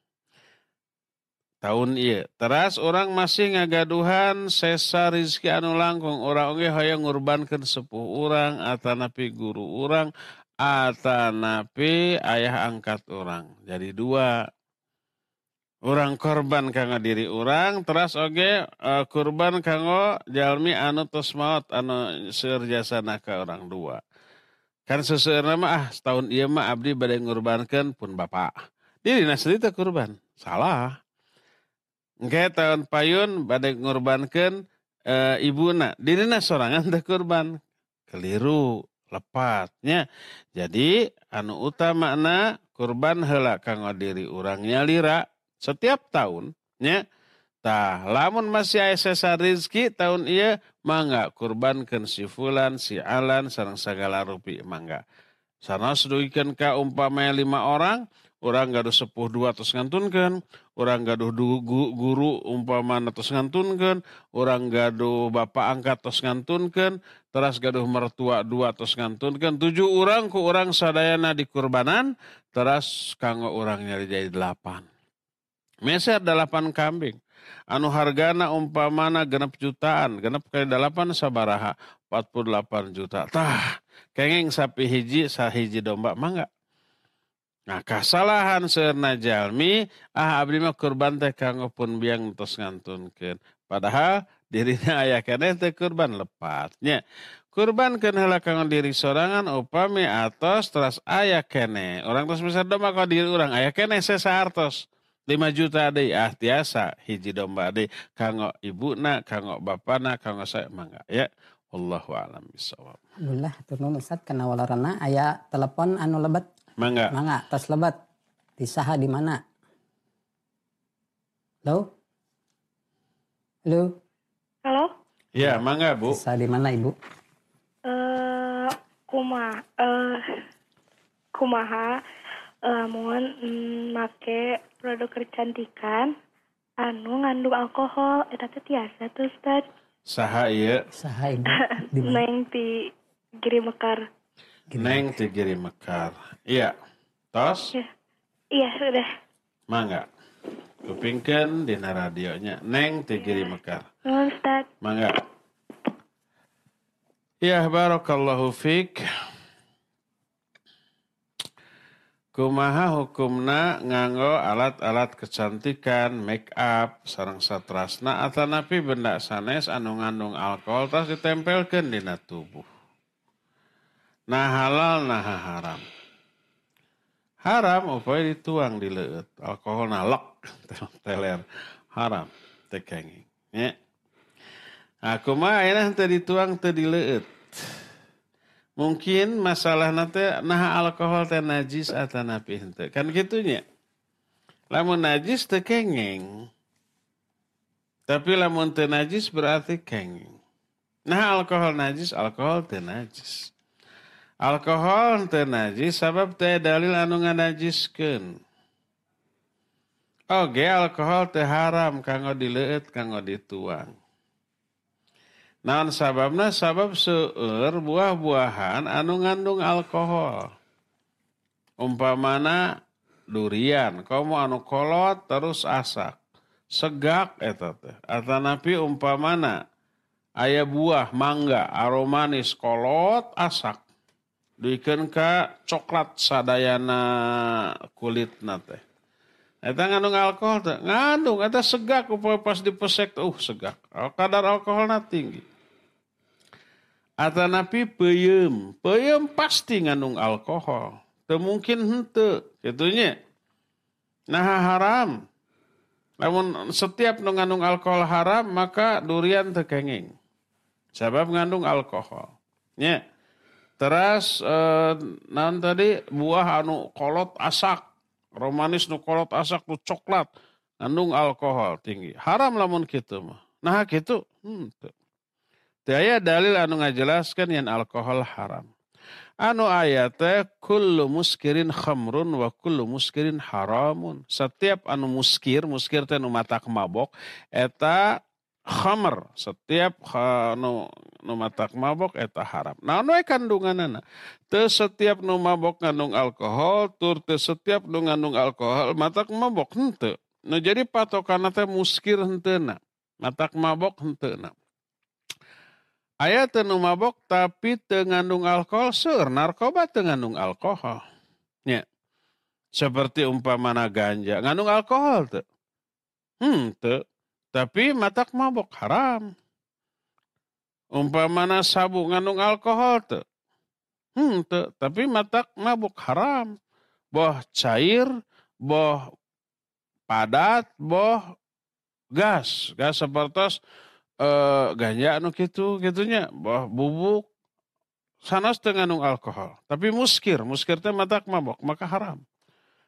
Speaker 1: Tahun ieu. Teras orang masih ngagaduhan sesa rezeki anu langkung, urang oge hoyong ngurbankeun sepuh urang atanapi guru urang atanapi ayah angkat orang. Jadi dua. Orang korban kanggo diri orang, teras oge uh, kurban kanggo jalmi anu tos maot anu seueur jasana ka orang dua. Kan seseueurna mah ah setahun ieu mah abdi bade ngurbankeun pun bapak. Dirina sendiri teh kurban. Salah. Engke tahun payun bade ngurbankeun uh, ibuna. Dirina sorangan teh kurban. Keliru. Lepatnya. Jadi anu utamana kurban heula kanggo diri urang nyalira setiap tahun nya. Tah lamun masih aya sesa rezeki tahun ieu mangga kurbankeun si fulan si alan sareng sagala rupi mangga. Sanos duikeun ka umpamanya lima orang, urang gaduh sepuh dua tos ngantunkeun, urang gaduh du, gu, guru umpamana tos ngantunkeun, urang gaduh bapak angkat tos ngantunkeun, teras gaduh mertua dua tos ngantunkeun, tujuh urang ku urang sadayana di kurbanan, teras kanggo urang nyari jadi delapan. Meser delapan kambing. Anu hargana umpamana genep jutaan, genep kali delapan sabaraha, empat puluh delapan juta. Tah, kenging sapi hiji, sahiji domba, mangga. Nah, kasalahan seurna jalmi, ah abdi mah kurban teh kanggo pun biang tos ngantunkeun. Padahal dirina aya keneh teh kurban lepatnya. Kurbankeun heula kanggo diri sorangan upami atos teras aya keneh. Urang tos besar domba ka diri urang aya keneh sesaartos. lima juta deui ah tiasa hiji domba deui kanggo ibuna, kanggo bapana, kanggo saya mangga ya. Wallahu a'lam bishawab.
Speaker 2: Alhamdulillah hatur nuhun Ustaz kana walarana aya telepon anu lebet.
Speaker 1: Mangga.
Speaker 2: Mangga tos lebet. Di saha di mana? Halo? Halo?
Speaker 5: Halo?
Speaker 1: Ya, mangga Bu.
Speaker 2: Di saha di mana Ibu?
Speaker 5: Eh kumaha eh kumaha eh mun mm, make produk kecantikan anu ngandung alkohol eta teh tiasa tuh Ustaz.
Speaker 1: Saha ieu?
Speaker 2: Saha Ibu? Di mana?
Speaker 5: Neng ti Giri Mekar.
Speaker 1: Neng ti Giri Mekar. Iya. Tos?
Speaker 5: Ya. Iya, sudah.
Speaker 1: Mangga. Kupingkeun dina radionya Neng ti Giri Mekar.
Speaker 5: Nuhun Ustaz.
Speaker 1: Mangga. Ya, barakallahu fik. Kumaha hukumna nganggo alat-alat kecantikan, make up, sareng satrasna atanapi benda sanes anu ngandung alkohol tas ditempelkeun dina tubuh. Nah halal nah haram. Haram upaya dituang di leueut, alkohol nalek teler haram teh kenging. Nya. Nah kumaha ayeuna teu dituang teu di leueut. Mungkin masalah nanti nah alkohol teh najis atanapi henteu. Kan gitunya. Lamun najis teu kengeng. Tapi lamun teu najis berarti kengeng. Nah alkohol najis, alkohol teu najis. Alkohol teu najis sabab teu dalil anu nganajiskeun. Oge alkohol teu haram kanggo dileueut, kanggo dituang. Naon sababna? Sabab seueur buah-buahan anu ngandung alkohol. Umpamana durian, komo anu kolot terus asak. Segak eta teh. Atanapi umpamana aya buah mangga aromanis kolot asak. Duikeun ka coklat sadayana kulitna teh. Eta ngandung alkohol teh. Ngandung eta segak upaya pas dipesek uh segak. Kadar alkoholna tinggi. Atanapi peuyeum, peuyeum pasti ngandung alkohol. Teu mungkin henteu, kitunya. Nah haram. Namun setiap nu ngandung alkohol haram, maka durian teu kenging. Sabab ngandung alkohol. Nya. Teras eh, naon tadi buah anu kolot asak, romanis nu kolot asak nu coklat, ngandung alkohol tinggi. Haram lamun kitu mah. Nah kitu henteu. Teu aya dalil anu ngajelaskeun yen alkohol haram. Anu aya teh kullu muskirin khamrun wa kullu muskirin haramun. Setiap anu muskir, muskir teh nu matak mabok eta khamr. Setiap anu nu matak mabok eta haram. Naon we kandunganna? Teu setiap nu mabok ngandung alkohol, tur teu setiap nu ngandung alkohol matak mabok henteu. Nu jadi patokanna teh muskir henteuna. Matak mabok henteuna. Aya teu nu mabok tapi teu ngandung alkohol, seueur narkoba teu ngandung alkohol. Nya. Seperti umpamana ganja, ngandung alkohol teu? Henteu. Tapi matak mabok haram. Umpamana sabu ngandung alkohol teu? Henteu. Tapi matak mabok haram. Boh cair, boh padat, boh gas. Gas sepertos Uh, ganja anu kitu kitunya bah bubuk sanes teu ngandung alkohol tapi muskir muskir teh matak mabok maka haram.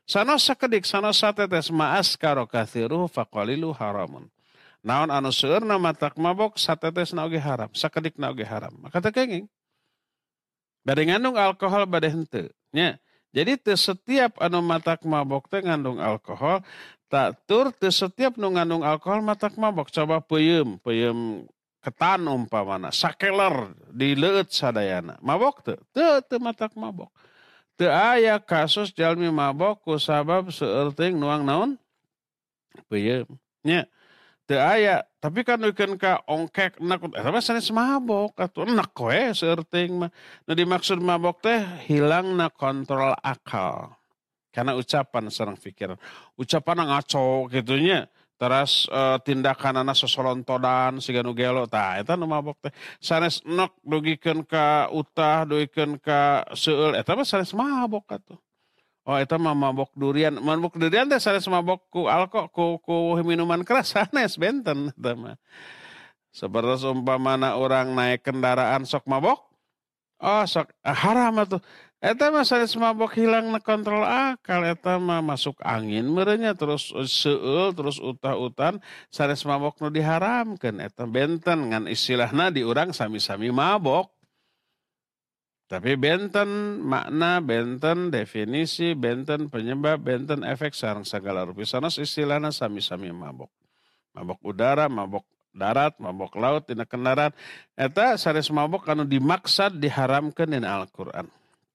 Speaker 1: Sanos sakedik sanos satetes ma'as karo kathiruhu faqalilu haramun. Naon anu seueurna matak mabok satetes na oge haram, sakedik na oge haram. Maka teu kenging. Bade ngandung alkohol bade henteu nya. Jadi teu setiap anu matak mabok teh ngandung alkohol, tak tur teu setiap nu ngandung alkohol matak mabok. Coba peuyeum, peuyeum ketan umpamana, sakeler di leueut sadayana. Mabok teu? Teu teu matak mabok. Teu aya kasus jalmi mabok ku sabab seueur teuing nuang naon? Peuyeum. Nya. Teu aya, tapi kan wekeun ka ongkek enak eta mah sanes mabok atuh enak we seueur teuing mah. Nu dimaksud mabok teh hilangna kontrol akal. Karena ucapan sareng pikiran. Ucapan ngaco gitu nya. Teras uh, tindakanana sosolontodan siga nu gelo tah eta nu mabok teh. Sanes enak dugikeun ka utah, dugikeun ka seueul eta mah sanes mabok atuh. Oh eta mah mabok durian, mabok durian teh sanes mabok ku alko ku, ku minuman keras sanes benten eta mah. Sapertos umpamana orang naik kendaraan sok mabok, oh sok ah, haram atuh. Eta mah sanes mabok hilangna kontrol akal, eta mah masuk angin merenya terus seueul terus utah-utan sanes mabok nu diharamkeun eta benten ngan istilahna di urang sami-sami mabok. Tapi benten makna, benten definisi, benten penyebab, benten efek sareng sagala rupi. Sanes istilahna sami-sami mabok. Mabok udara, mabok darat, mabok laut, dina kendaraan. Eta sanes mabok anu dimaksad diharamkeun dina Al-Qur'an.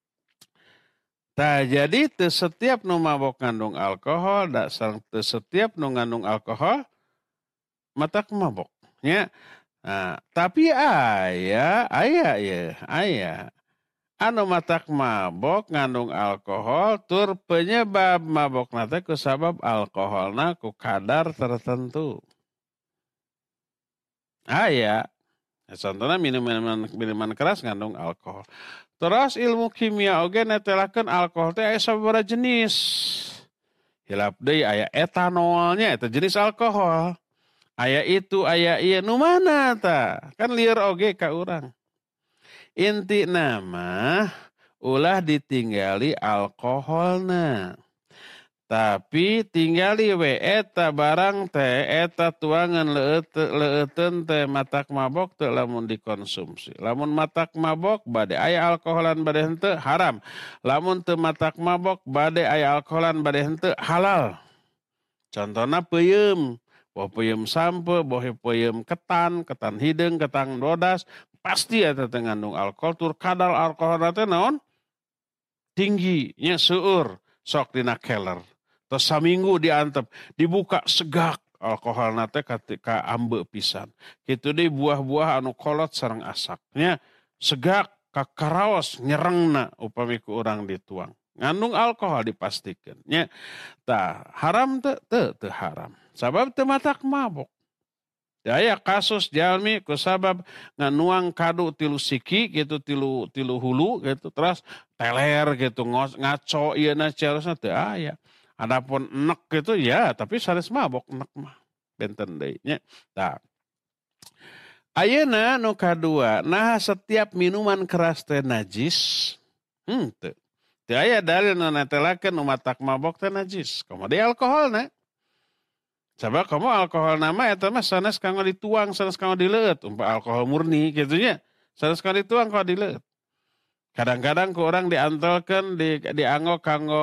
Speaker 1: Tah jadi teu setiap nu mabok ngandung alkohol, da sareng teu setiap nu ngandung alkohol matak mabok. Nya. Nah, tapi aya, aya ya, aya. Anu matak mabok ngandung alkohol tur penyebab mabok nate ku sabab alkoholna ku kadar tertentu. Aya. Contohna minuman minuman keras ngandung alkohol. Terus ilmu kimia oge netelakeun alkohol teh aya sababaraha jenis. Hilap deui aya etanolnya eta jenis alkohol. Aya itu aya ieu nu mana tah? Kan lieur oge ka urang. Inti nama ulah ditinggali alkoholna. Tapi tinggali we eta barang teh eta tuangan leueteun teh matak mabok teu lamun dikonsumsi. Lamun matak mabok bade aya alkoholan bade henteu haram. Lamun teu matak mabok bade aya alkoholan bade henteu halal. Contohna peuyeum, boh peuyeum sampe, boh peuyeum ketan, ketan hideung, ketan dodas, pasti eta teh ngandung alkohol tur kadar alkoholna teh naon? Tinggi nya seueur sok dina keler. Terus saminggu diantep, dibuka segak alkoholna teh ka ambe pisan. Kitu deui buah-buah anu kolot sareng asaknya segak ka karaos nyerengna upami ku urang dituang. Ngandung alkohol dipastikeun nya. Tah haram teu teu teu haram. Sabab teu matak mabok. Aya kasus jalmi ku sabab nganuang kadu tilu siki gitu tilu tilu hulu gitu terus teler gitu ngaco ieu na carosna teu aya. Adapun enek gitu ya tapi sanes mabok enek mah benten deui nya. Tah. Ayeuna nu kadua, nah setiap minuman keras teh najis? Hmm teu. Teu aya dalil nu netelakeun nu matak mabok teh najis. Komo deui alkoholna. Coba kamu alkohol nama eta mah sanes kanggo dituang, sanes kanggo dileueut, umpah alkohol murni kitu nya. Sanes kanggo dituang kanggo dileueut. Kadang-kadang ku urang diantelkeun di dianggo kanggo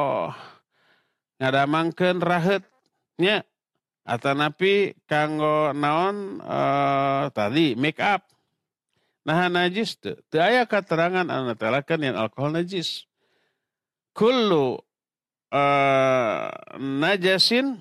Speaker 1: ngadamangkeun raheut nya. Atanapi kanggo naon uh, tadi make up. Nah najis teu. Teu aya katerangan anu netelakeun yen alkohol najis. Kullu uh, najasin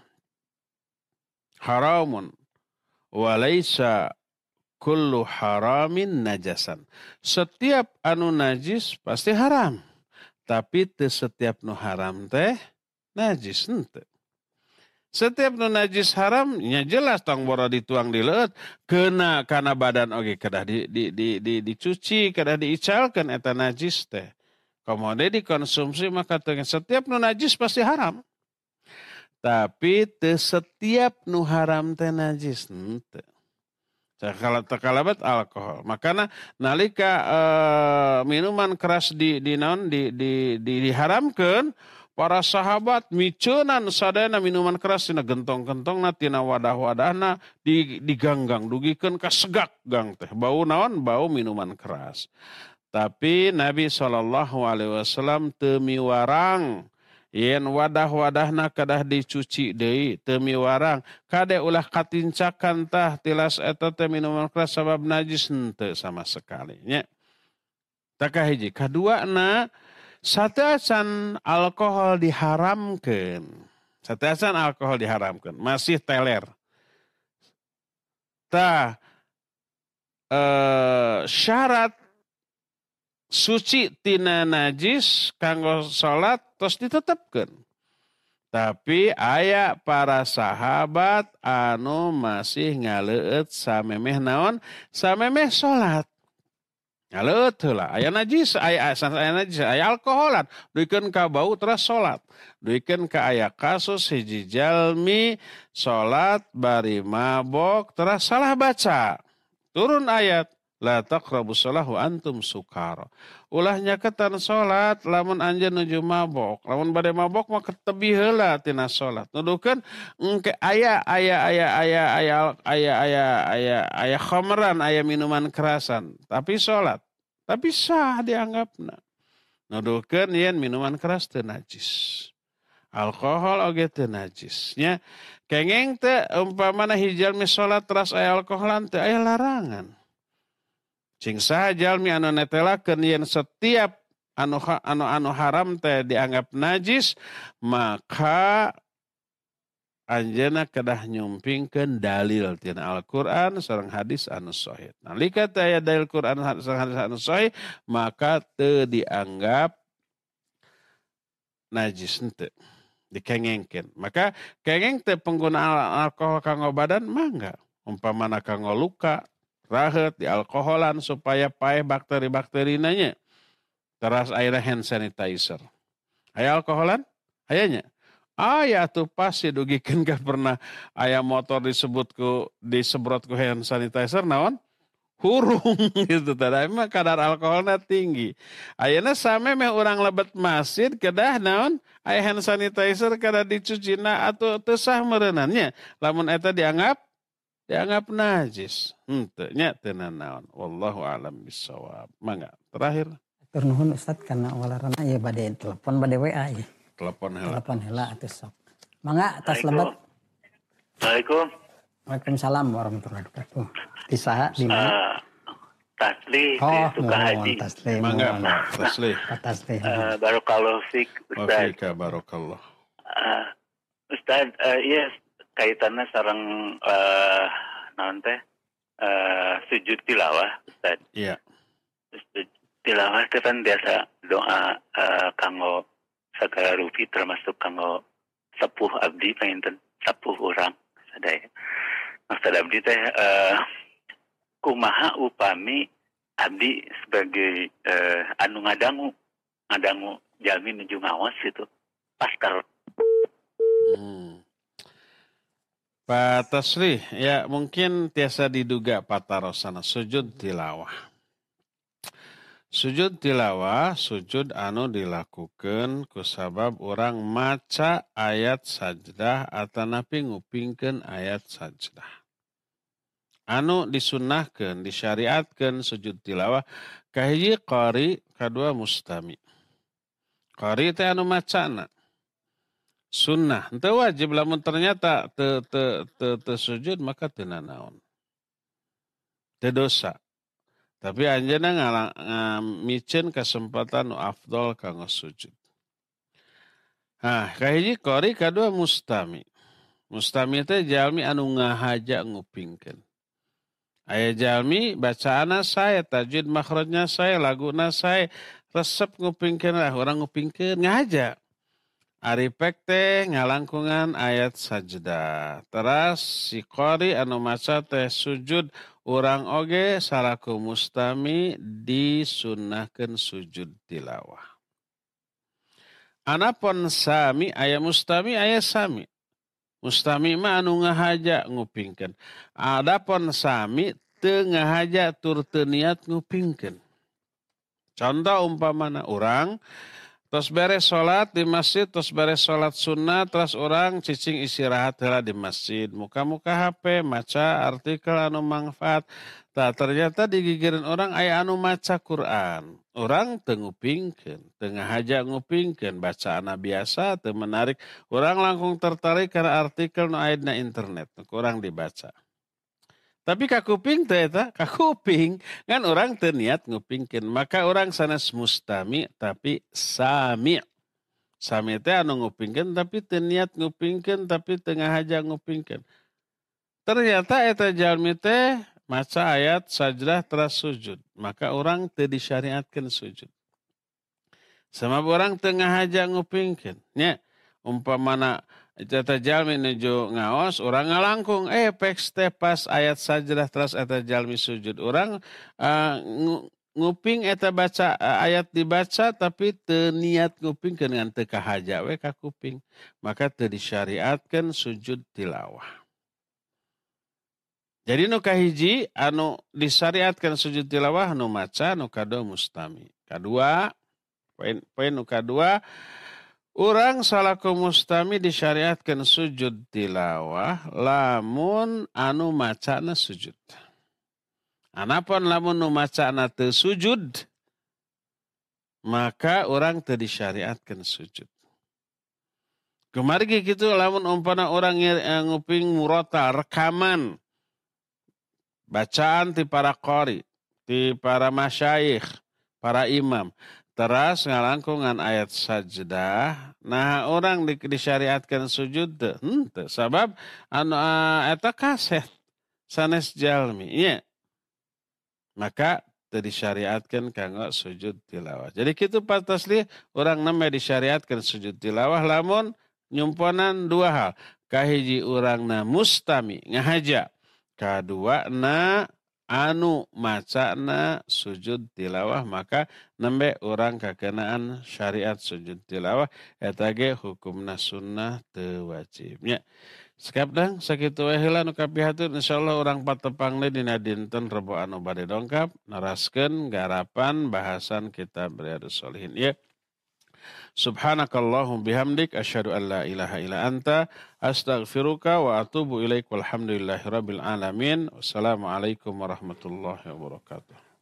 Speaker 1: haramun walaysa kullu haramin najasan. Setiap anu najis pasti haram. Tapi teu setiap nu haram teh najis henteu. Setiap nu najis haram nya jelas tong boro dituang di leueut keuna kana badan oge kedah di di di, di dicuci kedah diicalkeun eta najis teh. Komode dikonsumsi maka setiap nu najis pasti haram. Tapi teu setiap nu haram teh najis henteu. Kalau tekalabat alkohol. Makana nalika uh, minuman keras di di naon di di, di diharamkeun para sahabat micenan sadayana minuman keras tina gentong-gentongna tina wadah-wadahna di diganggang dugikeun ka segak gang teh bau naon bau minuman keras. Tapi Nabi shallallahu alaihi wasallam teu miwarang yen wadah-wadahna kadah dicuci deui teu miwarang kade ulah katincakan tah tilas eta teh minuman keras sabab najis henteu sama sekali nya. Taka hiji kaduana sateasan alkohol diharamkeun. Sateasan alkohol diharamkeun masih teler. Tah eh, syarat suci tina najis kanggo salat tos ditetepkeun. Tapi aya para sahabat anu masih ngaleueut samemeh naon? Samemeh salat. Ngaleueut heula, aya najis, aya aya najis, aya alkoholan, duikeun ka bau terus salat. Duikeun ka aya kasus hiji jalmi salat bari mabok terus salah baca. Turun ayat la taqrabus shalah wa antum sukara. Ulah nyaketan salat lamun anjeun nuju mabok. Lamun bade mabok mah tebi heula tina salat. Nuduhkeun engke aya aya aya aya aya aya aya aya aya khamran, aya minuman kerasan, tapi salat. Tapi sah dianggapna. Nuduhkeun yen minuman keras teu najis. Alkohol oge teu najis. Nya kengeng teh umpamana hiji jalmi salat teras aya alkoholan teu aya larangan. Cing saha jalmi anu netelakeun yen setiap anu anu anu haram teh dianggap najis, maka anjeunna kedah nyumpingkeun dalil tina Al-Qur'an sareng hadis anu sahih. Nalika teh aya dalil Qur'an sareng hadis anu sahih, maka teu dianggap najis henteu. Dikengengkeun. Maka kengeng teh penggunaan alkohol kanggo badan mangga. Umpamana kanggo luka, rahet di alkoholan supaya paeh bakteri-bakteri nanya. Teras airnya hand sanitizer. Aya alkoholan? Ayanya. Aya tuh pasti dugikeun ka pernah aya motor disebut ku disemprot ku hand sanitizer naon? Hurung gitu tadi mah kadar alkoholnya tinggi. Ayeuna samemeh urang lebet masjid kedah naon? Aya hand sanitizer kada dicucina atuh teu sah meureunannya. Lamun eta dianggap dianggap najis. Henteu nya teu naon. Wallahu a'lam bissawab. Mangga terakhir.
Speaker 2: Tur nuhun Ustaz kana walarana ieu bade telepon bade W A ieu.
Speaker 1: Telepon heula.
Speaker 2: Telepon heula atuh sok. Mangga atas lebat.
Speaker 6: Assalamualaikum.
Speaker 2: Waalaikumsalam warahmatullahi wabarakatuh. Di saha di mana?
Speaker 6: Uh, Tasli
Speaker 2: Oh,
Speaker 6: di Sukahaji.
Speaker 2: Tasli.
Speaker 1: Mangga Pak Tasli.
Speaker 2: Pak Tasli.
Speaker 6: Uh, Barakallahu fik
Speaker 1: Wa
Speaker 6: Ustaz.
Speaker 1: fika barakallah.
Speaker 6: Uh, Ustaz, uh, iya kaitannya sareng uh, naon teh uh, sujud tilawah Ustaz.
Speaker 1: Iya.
Speaker 6: Sujud tilawah itu kan biasa doa uh, kanggo sagala rupi termasuk kanggo sepuh abdi panginten sepuh urang sadaya. Maksud abdi teh uh, kumaha upami abdi sebagai uh, anu ngadangu ngadangu jalmi nuju ngawas itu paskar.
Speaker 1: Hmm. Pak Tasli, ya mungkin tiasa diduga patarosana sujud tilawah. Sujud tilawah, sujud anu dilakukan kusabab orang maca ayat sajdah atanapi ngupingkeun ayat sajdah. Anu disunnahkeun, disyariatkeun sujud tilawah kahiji qari, kadua mustami. Qari teh anu macana. Sunnah, henteu wajib lamun ternyata teu teu teu teu sujud maka teu nanaon. Teu dosa. Tapi anjeunna ngamicen kesempatan nu afdol kanggo sujud. Nah, kahiji qari kadua mustami. Mustami teh jalmi anu ngahaja ngupingkeun. Aya jalmi bacaana sae, tajwid makhrajna sae, laguna sae, resep ngupingkeun lah urang ngupingkeun ngahaja. Aripek teh ngalangkungan ayat sajdah. Teras si qari anu maca teh sujud urang oge salaku mustami disunnahkeun sujud tilawah. Anapun sami aya mustami aya sami. Mustami mah anu ngahaja ngupingkeun. Adapun sami teu ngahaja tur teu niat ngupingkeun. Contoh umpamana urang Tos beres sholat di masjid, tos beres sholat sunnah, terus orang cicing istirahat heula di masjid. Muka-muka H P, maca artikel anu manfaat. Tak ternyata digigirin orang aya anu maca Quran. Orang teu ngupingkeun, teu ngahaja ngupingkeun, bacaan biasa teu menarik. Orang langkung tertarik karena artikel nu aya dina internet, kurang dibaca. Tapi kakuping teh eta, kakuping kan orang teu niat ngupingkeun, maka orang sanes mustami tapi sami. Sami teh anu ngupingkeun tapi teu niat ngupingkeun tapi teu ngahaja ngupingkeun. Ternyata eta jalmi teh maca ayat sajdah teras sujud, maka orang teu disyariatkeun sujud. Sama orang teu ngahaja ngupingkeun. Nya umpamana eta jalmi nuju ngaos, orang ngalangkung, eh peks teh pas ayat sajdah teras eta jalmi sujud. Orang uh, nguping eta baca uh, ayat dibaca tapi teu niat ngupingkeun ngan teu kahaja we ka kuping. Maka teu disyariatkeun sujud tilawah. Jadi nu kahiji anu disyariatkeun sujud tilawah nu maca, nu kadua mustami. Kadua, poin poin nu kadua, urang salaku mustami disyariatkan sujud tilawah lamun anu macana sujud. Anapun lamun nu macana teu sujud, maka orang teu disyariatkan sujud. Kemarin gitu lamun umpana orang nguping murota rekaman bacaan ti para qari, ti para masyayikh, para imam. Teras ngalangkungan ayat sajdah, nah orang di, disyariatkan sujud teu henteu sabab anu uh, eta kaset sanes jalmi nya. Maka teu disyariatkeun kanggo sujud tilawah. Jadi kitu Pak Tasli orang neme disyariatkan sujud tilawah lamun nyumponan dua hal. Kahiji urangna mustami ngahaja, kadua na anu macana sujud tilawah, maka nembe orang kakenaan syariat sujud tilawah eta ge hukumna sunnah teu wajibnya. Sekapdang sakitu wae heula nu kapihatur, insyaallah urang patepang deui dina dinten Rebo anu bade dongkap naraskeun garapan bahasan kitab Riyadhus Shalihin ya. Subhanakallahum bihamdik asyhadu an la ilaha illa anta astaghfiruka wa atubu ilaik walhamdulillahi rabbil alamin. Wassalamualaikum warahmatullahi wabarakatuh.